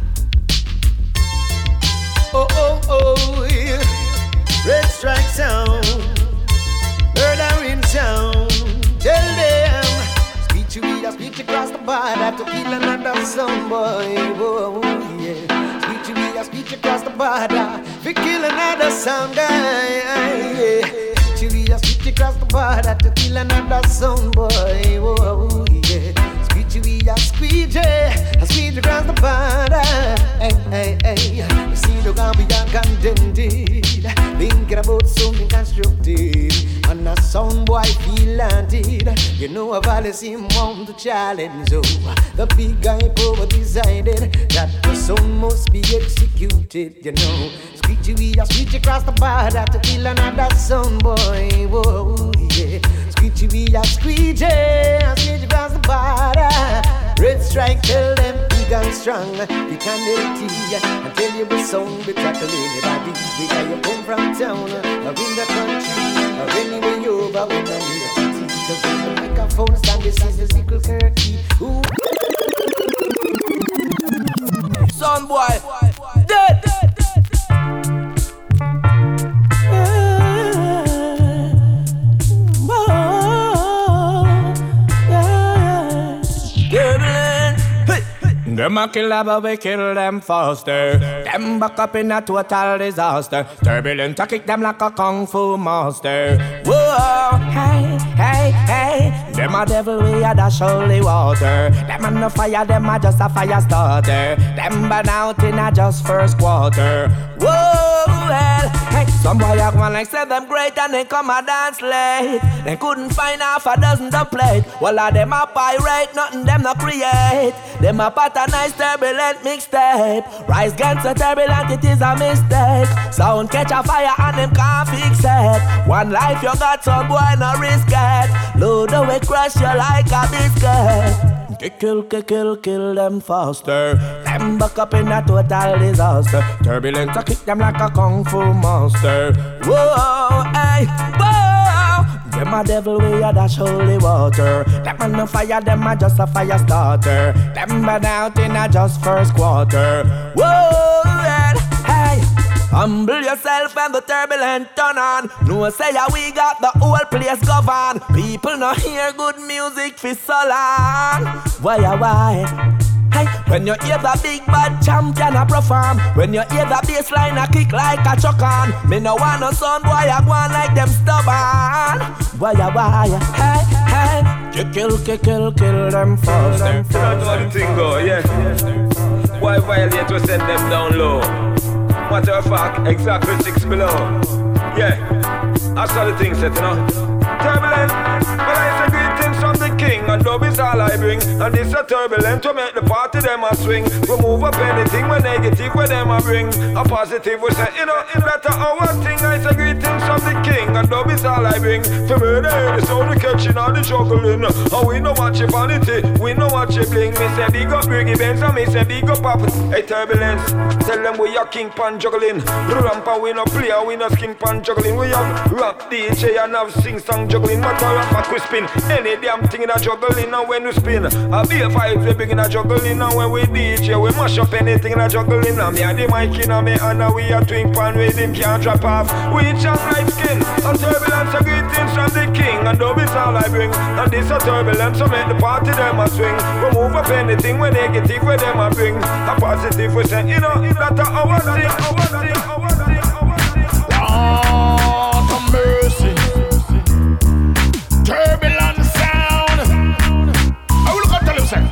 Oh, oh, oh, yeah. Red Strike sound. Murder in sound. Tell them. Speech you read, I speech across the border to kill another son, boy. Whoa, yeah. Speech you read, I speech across the border to kill another son, guy. Yeah. Speech you read, I speech across the border to kill another son, boy. Whoa, yeah. Speech you read, I speech, I speech across the border. Hey, hey, hey. You see the ground beyond condemned. Thinking about something constructive. And a sound boy feel landed. You know a Valis him want to challenge. Oh, the big guy power decided that the sound must be executed. You know, speech we are speech across the border to kill another sound boy. Whoa, yeah. Speech we are squeegee, speech across the border. Red Strike tell them big and strong. We can help you and tell you the song we tackle anybody. Whether you come from town or in the country or anywhere you over, we don't need a city. Cause when the microphone stand, this is the Sickle Kirky. Son boy, dead. Them a kill but we kill them faster. Them back up in a total disaster. Turbulent to kick them like a kung fu master. Whoa, hey, hey, hey. Them a devil we a dash holy water. Them a no fire, them a just a fire starter. Them burn out in a just first quarter. Whoa, well, hey. Some boy act one like say them great and they come a dance late. They couldn't find half a dozen to play. Well, a them a pirate, nothing them no create. Them a patternized turbulent mixtape. Rise against a turbulent, it is a mistake. Sound catch a fire and them can't fix it. One life you got, so boy no risk it. Load away, crush you like a biscuit. Kill, kill, kill, kill them faster. Them back up in a total disaster. Turbulence, I kick them like a kung fu monster. Whoa, hey, whoa. Them a devil, we a dash holy water. Them a no fire, them a just a fire starter. Them burn out in a just first quarter. Whoa, and hey. Humble yourself and the turbulent turn on. No say ya we got the whole place govern. People no hear good music for so long. Why ya why? Hey, when you hear the big bad champion a perform, when you hear the bass line a kick like a chuck on, me no want no sound boy a go on like them stubborn. Why ya why? Hey, hey, you kill, kill, kill, kill them first. You don't know how the thing go, yeah. Why violate we send them down low? Matter of fact, exactly six below. Yeah, I saw the thing set, you know. Turbulent, but I say greetings from the king, and love is all I bring. And this a turbulent to make the party them a swing. Remove up anything when negative where them a bring. A positive we say, you know, that's our thing. I say greetings from the king, and love is all I bring. For murder, the sound we catching all the juggling. And we no watch your vanity, we no watch your bling. Me say big up Briggy Benz, and me say big up Pop. Hey Turbulence, tell them we are king pan juggling. Ramp and we no play, we no skin pan juggling. We have rap D J and have sing song juggling. Matter of fact we spin any damn thing in a juggling. And when we spin, a B F five we big in a juggling. And when we D J we mash up anything in a juggling. And me and the mic in a me and we a twin pan with him can't drop off. We chant like skin. A turbulence a greetings from the king, and dub is all I bring. And this a turbulence so make the party them a swing. Remove up anything when negative where them a bring. A positive we say, you know, that's our thing, our thing, our thing, our thing. Lord of mercy, turbulent sound. I will look up tell you say,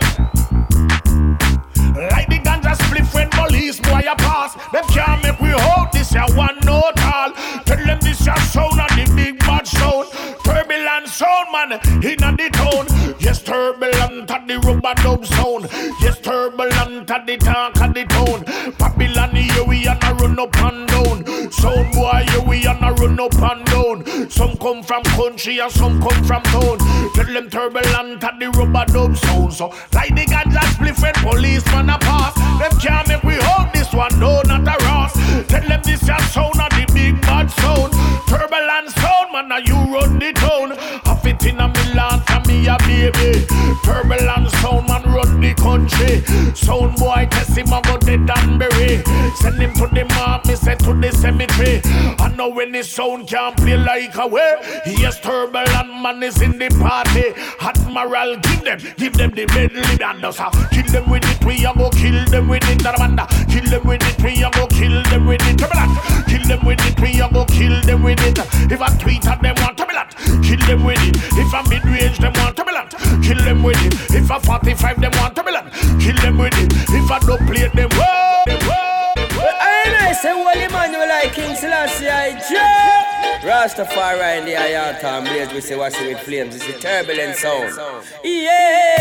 like the ganja split when police boy a pass. Them can't make we hold this ya one note all. Tell them this ya sound and the big bad sound. Turbulent sound man inna the town. Yes, turbulent at the rubber dub sound. Yes, turbulent at the talk of the town. Babylon here we and a run up and down. Sound boy here we and a run up and down. Some come from country and some come from town. Tell them turbulent at the rubber dub sound. So like the ganja split when policeman a pass. Them can't make we hold this one, no not a Ross. Tell them this your sound and the big bad sound. Turbulent sound man, now you run the town. I fit in a Milan for me a baby. Turbulent sound man run the country. Sound boy test him a go dead and bury. Send him to the mark, me send to the cemetery. I know when the sound can't play like a way. Yes, turbulent man is in the party. Admiral, give them, give them the medley dancer. Kill them with it, we a go kill them with it. Amanda, kill them with it, we a go kill them with it. Turbulent, kill them with it, we a go kill them with it. If I tweet at them want turbulent, kill them with it. If I mid-range them want turbulent, kill them with it. If I forty-five them want turbulent, kill them with it. If I don't play them, whoa, them, whoa, whoa. I say, holy man, you like King Selassie, I Joe. Rastafari in the Ayata and Blaze, we say, what's it with flames? It's a turbulent sound. Yeah.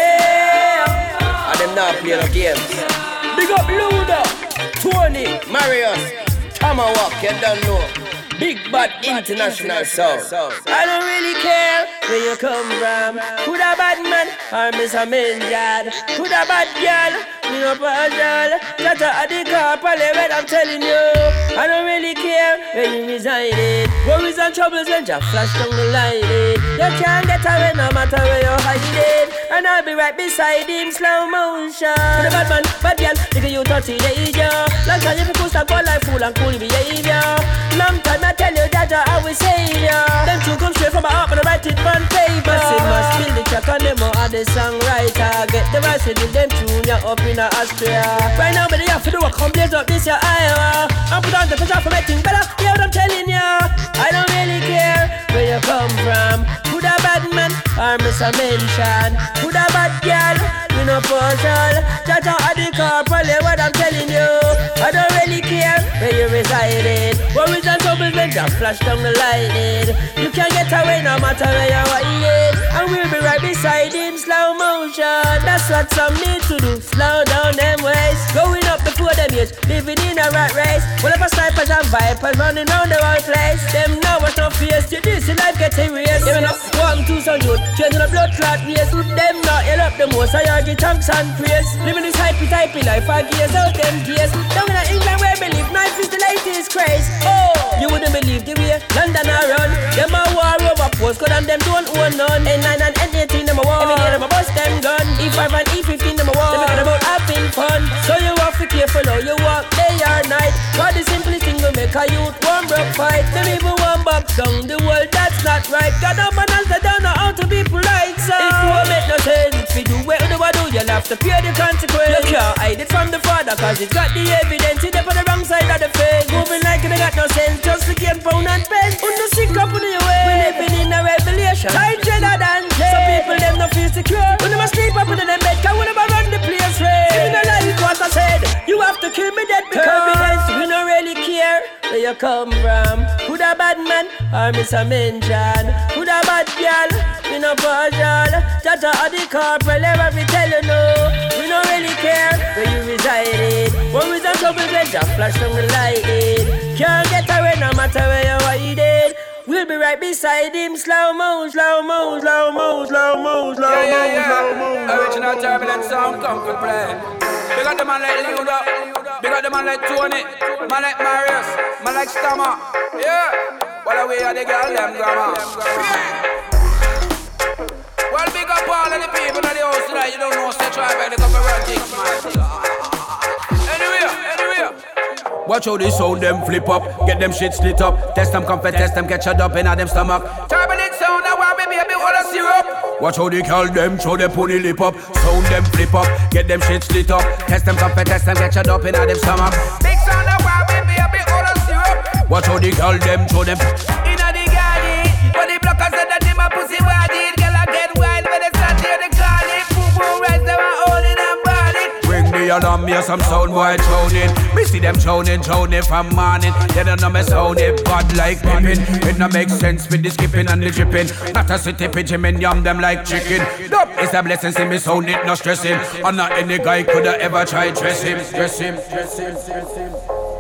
And them not play no games. Big up Luda, Tony, Marius, Tomahawk, you don't know. Big bad international sound. I don't really care where you come from. Could a bad man or miss a main yard? Could a bad girl, me no partial. That's a the car, probably what I'm telling you. I don't really care where you reside. Worries and troubles when you flash down the light. You can't get away no matter where you're hiding. And I'll be right beside him, slow motion. Could a bad man, bad girl, nigga you thirty days, yo. Long time if you could stop go like fool and cool behavior. Long time I tell you that I will say ya. Them two come straight from my heart and I write it on paper. Massive must kill the track and them are the songwriter. Get the voice with them tune ya up in Austria. Right now but they have to do a come blaze up this ya Iowa. And put on the pressure for making better. Yeah what I'm telling ya. I don't really care where you come from. Could a bad man or miss a mention. Could a bad girl, we no partial. Jaja at the car, probably what I'm telling you. I don't really care where you reside. Worries and troubles when just flash down the lightning. You can't get away no matter where you're hiding. And we'll be right beside him, slow motion. That's what some need to do, slow down them ways. Going up before them years, living in a rat race. Whatever snipers and vipers running round the whole place. Them know what's no face to this, your life gets erased. You know, one, two, so youth, changing a blood clot race. Them not yell up the most, I argue thanks and praise. Living this hypey-typey life, I gears out them gears. Down in England where we live, knife is the latest craze. Oh, you wouldn't believe the way London I run. Them a war over postcode and them don't own none. N nine and N eighteen them a war. Every day them a bust them gun. E five and E fifteen them a war. Them a about having fun. So you have to be careful how you walk day or night. Cause the simplest thing will make a youth one broke fight. Them even one box down the world, that's not right. God up and else they don't know how to be polite. So it won't make no sense. If you do what you do, you'll have to pay the consequence. You can't hide it from the father cause he's got the evidence. He's on the wrong side of the fence. Moving like they got no sense. Just to gain pound and pence. On the sick up on your way. We're living in a revelation. Tight cheddar than jail. Some people them not feel secure. When them a sleep up in them bed, cause we never run the place right. If you don't like what I said, you have to kill me dead because turbulence, we don't really care where you come from. Could a bad man or miss a mention? Could a bad girl, we no partial. Judge or the corporal, ever we tell you no. We don't really care where you reside. When we don't trouble, we just flash from the lightning. Can't get away no matter where you're hiding. We'll be right beside him, slow mo, slow mo, slow mo, slow mo, slow mo, yeah, yeah, yeah. slow mo. Original turbulent sound, come to play. Big up the man like Luda, big up the man like Tony, man like Marius, man like Stammer. Yeah, while away are the girl them grandma. Well, big up all of the people in the house tonight. You don't know, say try back the couple run things, man. Anyway, anyway. Watch how they sound them flip up, get them shit split up. Test them comfort, test them get shut up in a them stomach. Turbulent sound, I want me baby all the syrup. Watch how they call them, show them pony lip up. Sound them flip up, get them shit split up. Test them comfort, test them get shut up in a them stomach. Big sound, I want me baby all the syrup. Watch how they call them, show them. Inna the garden, when the blockers said that they my pussy body, girl I get wild when they start hear the calling. Boom boom, rise them and holding and balling. Bring the alarm, me some sound boy drowning. Me see them drowning, drowning from morning. They don't know me sound it bad like pippin'. It no make sense with the skipping and the dripping. Not a city pigeon, men yum them like chicken. Nope, it's a blessing, see me sound it, no stress him. And not any guy coulda ever try dress him, dress him, dress him, dress him.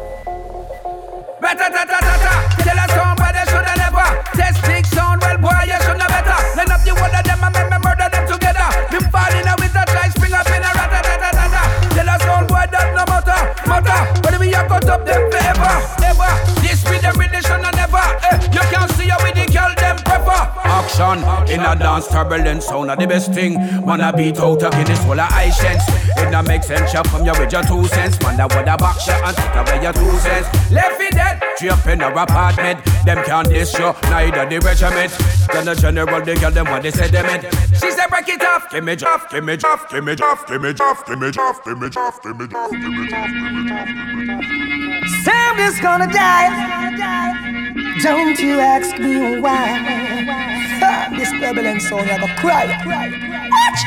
Ra-ta-ta-ta-ta-ta. Tell us somebody they shoulda never. Test big sound, well boy you should know better. Line up the one of them and make me murder them together. Been falling out with a try, spring up in a ra-ta-ta-ta-ta-ta. Tell us sound boy that no matter, matter. But we have cut up them forever, ever. This with them with the shun and never. Eh, you can't see how with the girl them prefer. Action in a dance, turbulent sound are the best thing. Man a beat out a Guinness full of high chance. It no make sense, you come here with your two cents. Man that would a back shot and take away your two cents. Left it dead. Tree up in our apartment. Them can't diss you, neither the regiment. Then the general, they girl them what they said they meant. She said break it off. Give me off, give me off, give me off, give me off, give me off, give me off, give me off, give me off, give me off. Sam is gonna die. Don't you ask me why. Ha, this turbulent sound, I go cry. Watch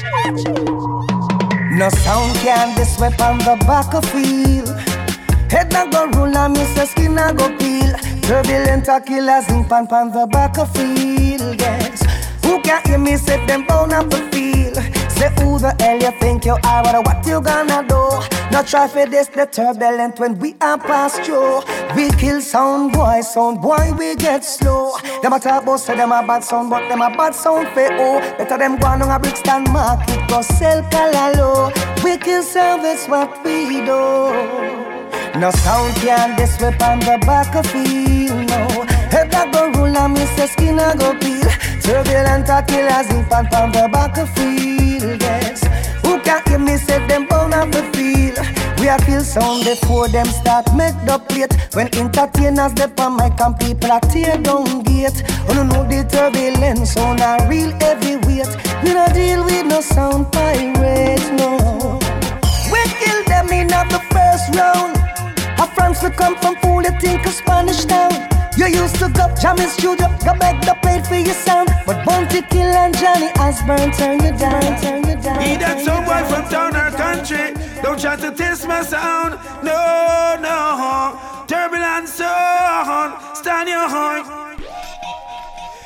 you. No sound can this weapon the back of field. Head na go roll and miss the skin na go peel. Turbulent a killers in pan pan the back of field. Yes. Who can't hear me say them bound up the field. Say who the hell you think you are, but what you gonna do? Not try for this the turbulent when we are past through. We kill sound boy, sound boy we get slow. Them a talk about say them a bad sound, but them a bad sound for oh. Better them go on a Brixton market, go sell Calalo. We kill sound, that's what we do. No sound can this weapon the back of field, no. Head a go roll and miss the skin a go peel. Turbulent a killers in pan pan the back of field, yes. Who can't hear me say them bound of the field. We a kill sound before them start make the plate. When entertainers dep on mic and people a tear down gate. Oh no know the turbulent sound a real heavyweight. We no deal with no sound pirates, no. We kill them in at the first round. A France will come from fool, you think of Spanish town. You used to go jam in studio, go back the plate for your sound. But Bounty Kill and Johnny Osborne turn you down, turn you down. Be that someone from town or country. Don't try to test my sound. No, no. Turbulent sound. Stand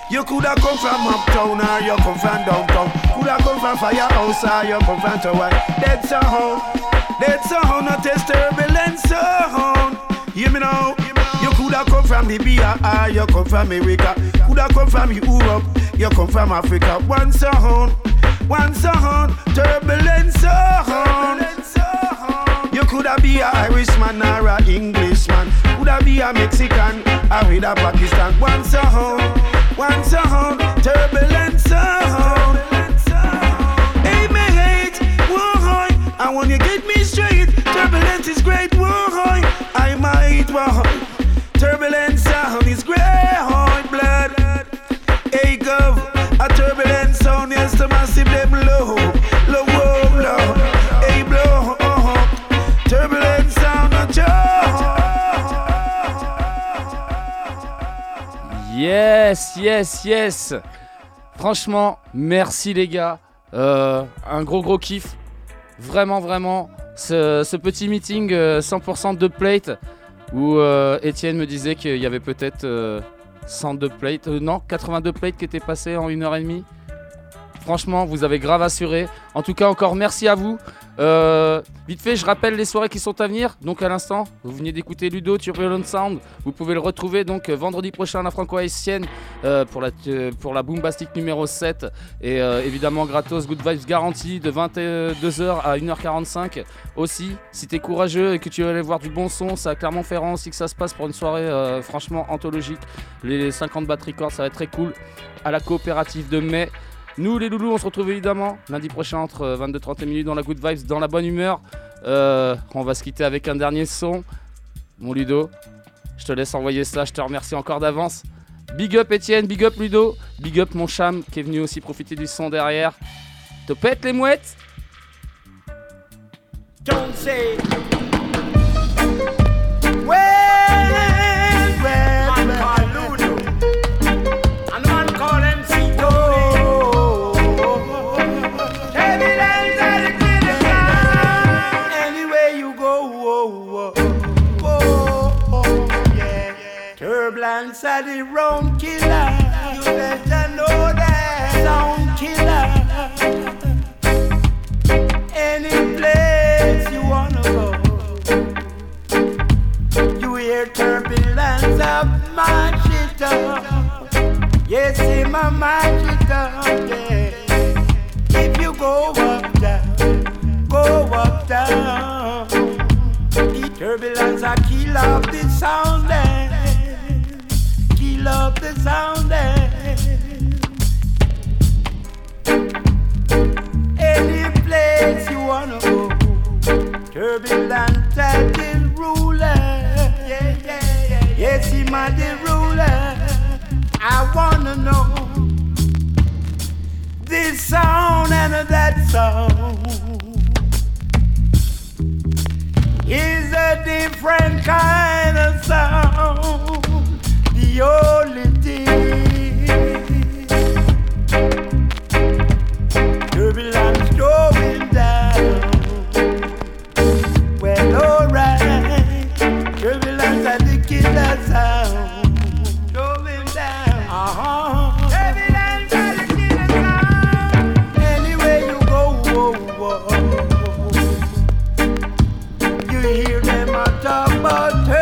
You coulda come from uptown or you come from downtown. Coulda come from firehouse or you come from town. Dead sound, dead sound, not a turbulent sound. Hear me now. You coulda come from Libya or you come from America. Coulda come from Europe, you come from Africa. One sound, one sound, turbulent sound. You coulda be a Irishman or a Englishman. Coulda be a Mexican or with a Pakistan. One sound, one sound, turbulent sound. Hey, me hate, whoa, and when you get me straight, turbulent is great, whoa, I might, whoa. Turbulent sound is great, blood. Hey, gov, a turbulent sound, yes, the massive them low, low, low, hey, blow, uh-huh. Turbulent sound, a Yes, yes, yes. Franchement, merci les gars. Euh, un gros gros kiff. Vraiment, vraiment. Ce, ce petit meeting euh, cent pour cent dubplate où euh, Étienne me disait qu'il y avait peut-être euh, cent dubplates. Euh, non, quatre-vingt-deux plates qui étaient passés en une heure et demie. Franchement, vous avez grave assuré. En tout cas, encore merci à vous. Euh, vite fait, je rappelle les soirées qui sont à venir. Donc à l'instant, vous venez d'écouter Ludo, Turbulent Sound. Vous pouvez le retrouver donc vendredi prochain à la Franco-Haïtienne euh, pour, la, euh, pour la Boombastic numéro sept. Et euh, évidemment, gratos, Good Vibes garantie de vingt-deux heures à une heure quarante-cinq. Aussi, si t'es courageux et que tu veux aller voir du bon son, c'est à Clermont-Ferrand aussi que ça se passe pour une soirée euh, franchement anthologique. Les cinquante Battery Records, ça va être très cool. À la coopérative de mai. Nous les loulous, on se retrouve évidemment lundi prochain entre vingt-deux trente minutes dans la Good Vibes, dans la bonne humeur. Euh, on va se quitter avec un dernier son. Mon Ludo, je te laisse envoyer ça, je te remercie encore d'avance. Big up Étienne, big up Ludo, big up mon cham qui est venu aussi profiter du son derrière. Te pète les mouettes. Don't say well, well, man call Ludo and man call M C Tony. Turbulence are the killer sound. Anywhere you go, oh, oh, oh, oh, yeah. Turbulence are the round killer. You better know that sound killer. Any place you wanna go, you hear turbulence of my shit up. Yes, see my magic up, yeah. If you go up, down, go up, down. The turbulence I kill off the sound, eh. Kill off the sound, eh. Any place you wanna go, turbulent at the ruler. Yeah, yeah, yeah. Yes, he might the ruler. I wanna know this sound and that sound is a different kind of sound. The only thing turbulence going down. Well, alright, turbulence at the killer sound. Going down. Uh-huh. Turbulence at the killer sound. Anywhere you go, oh, oh, oh. You hear them a talk about turbulence.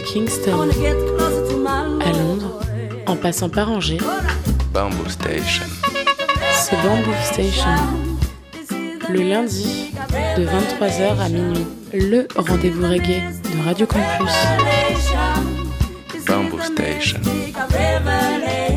Kingston, à Londres, en passant par Angers, Bamboo Station. c'est Bamboo Station. Le lundi, de vingt-trois heures à minuit, le rendez-vous reggae de Radio Campus. Bamboo Station.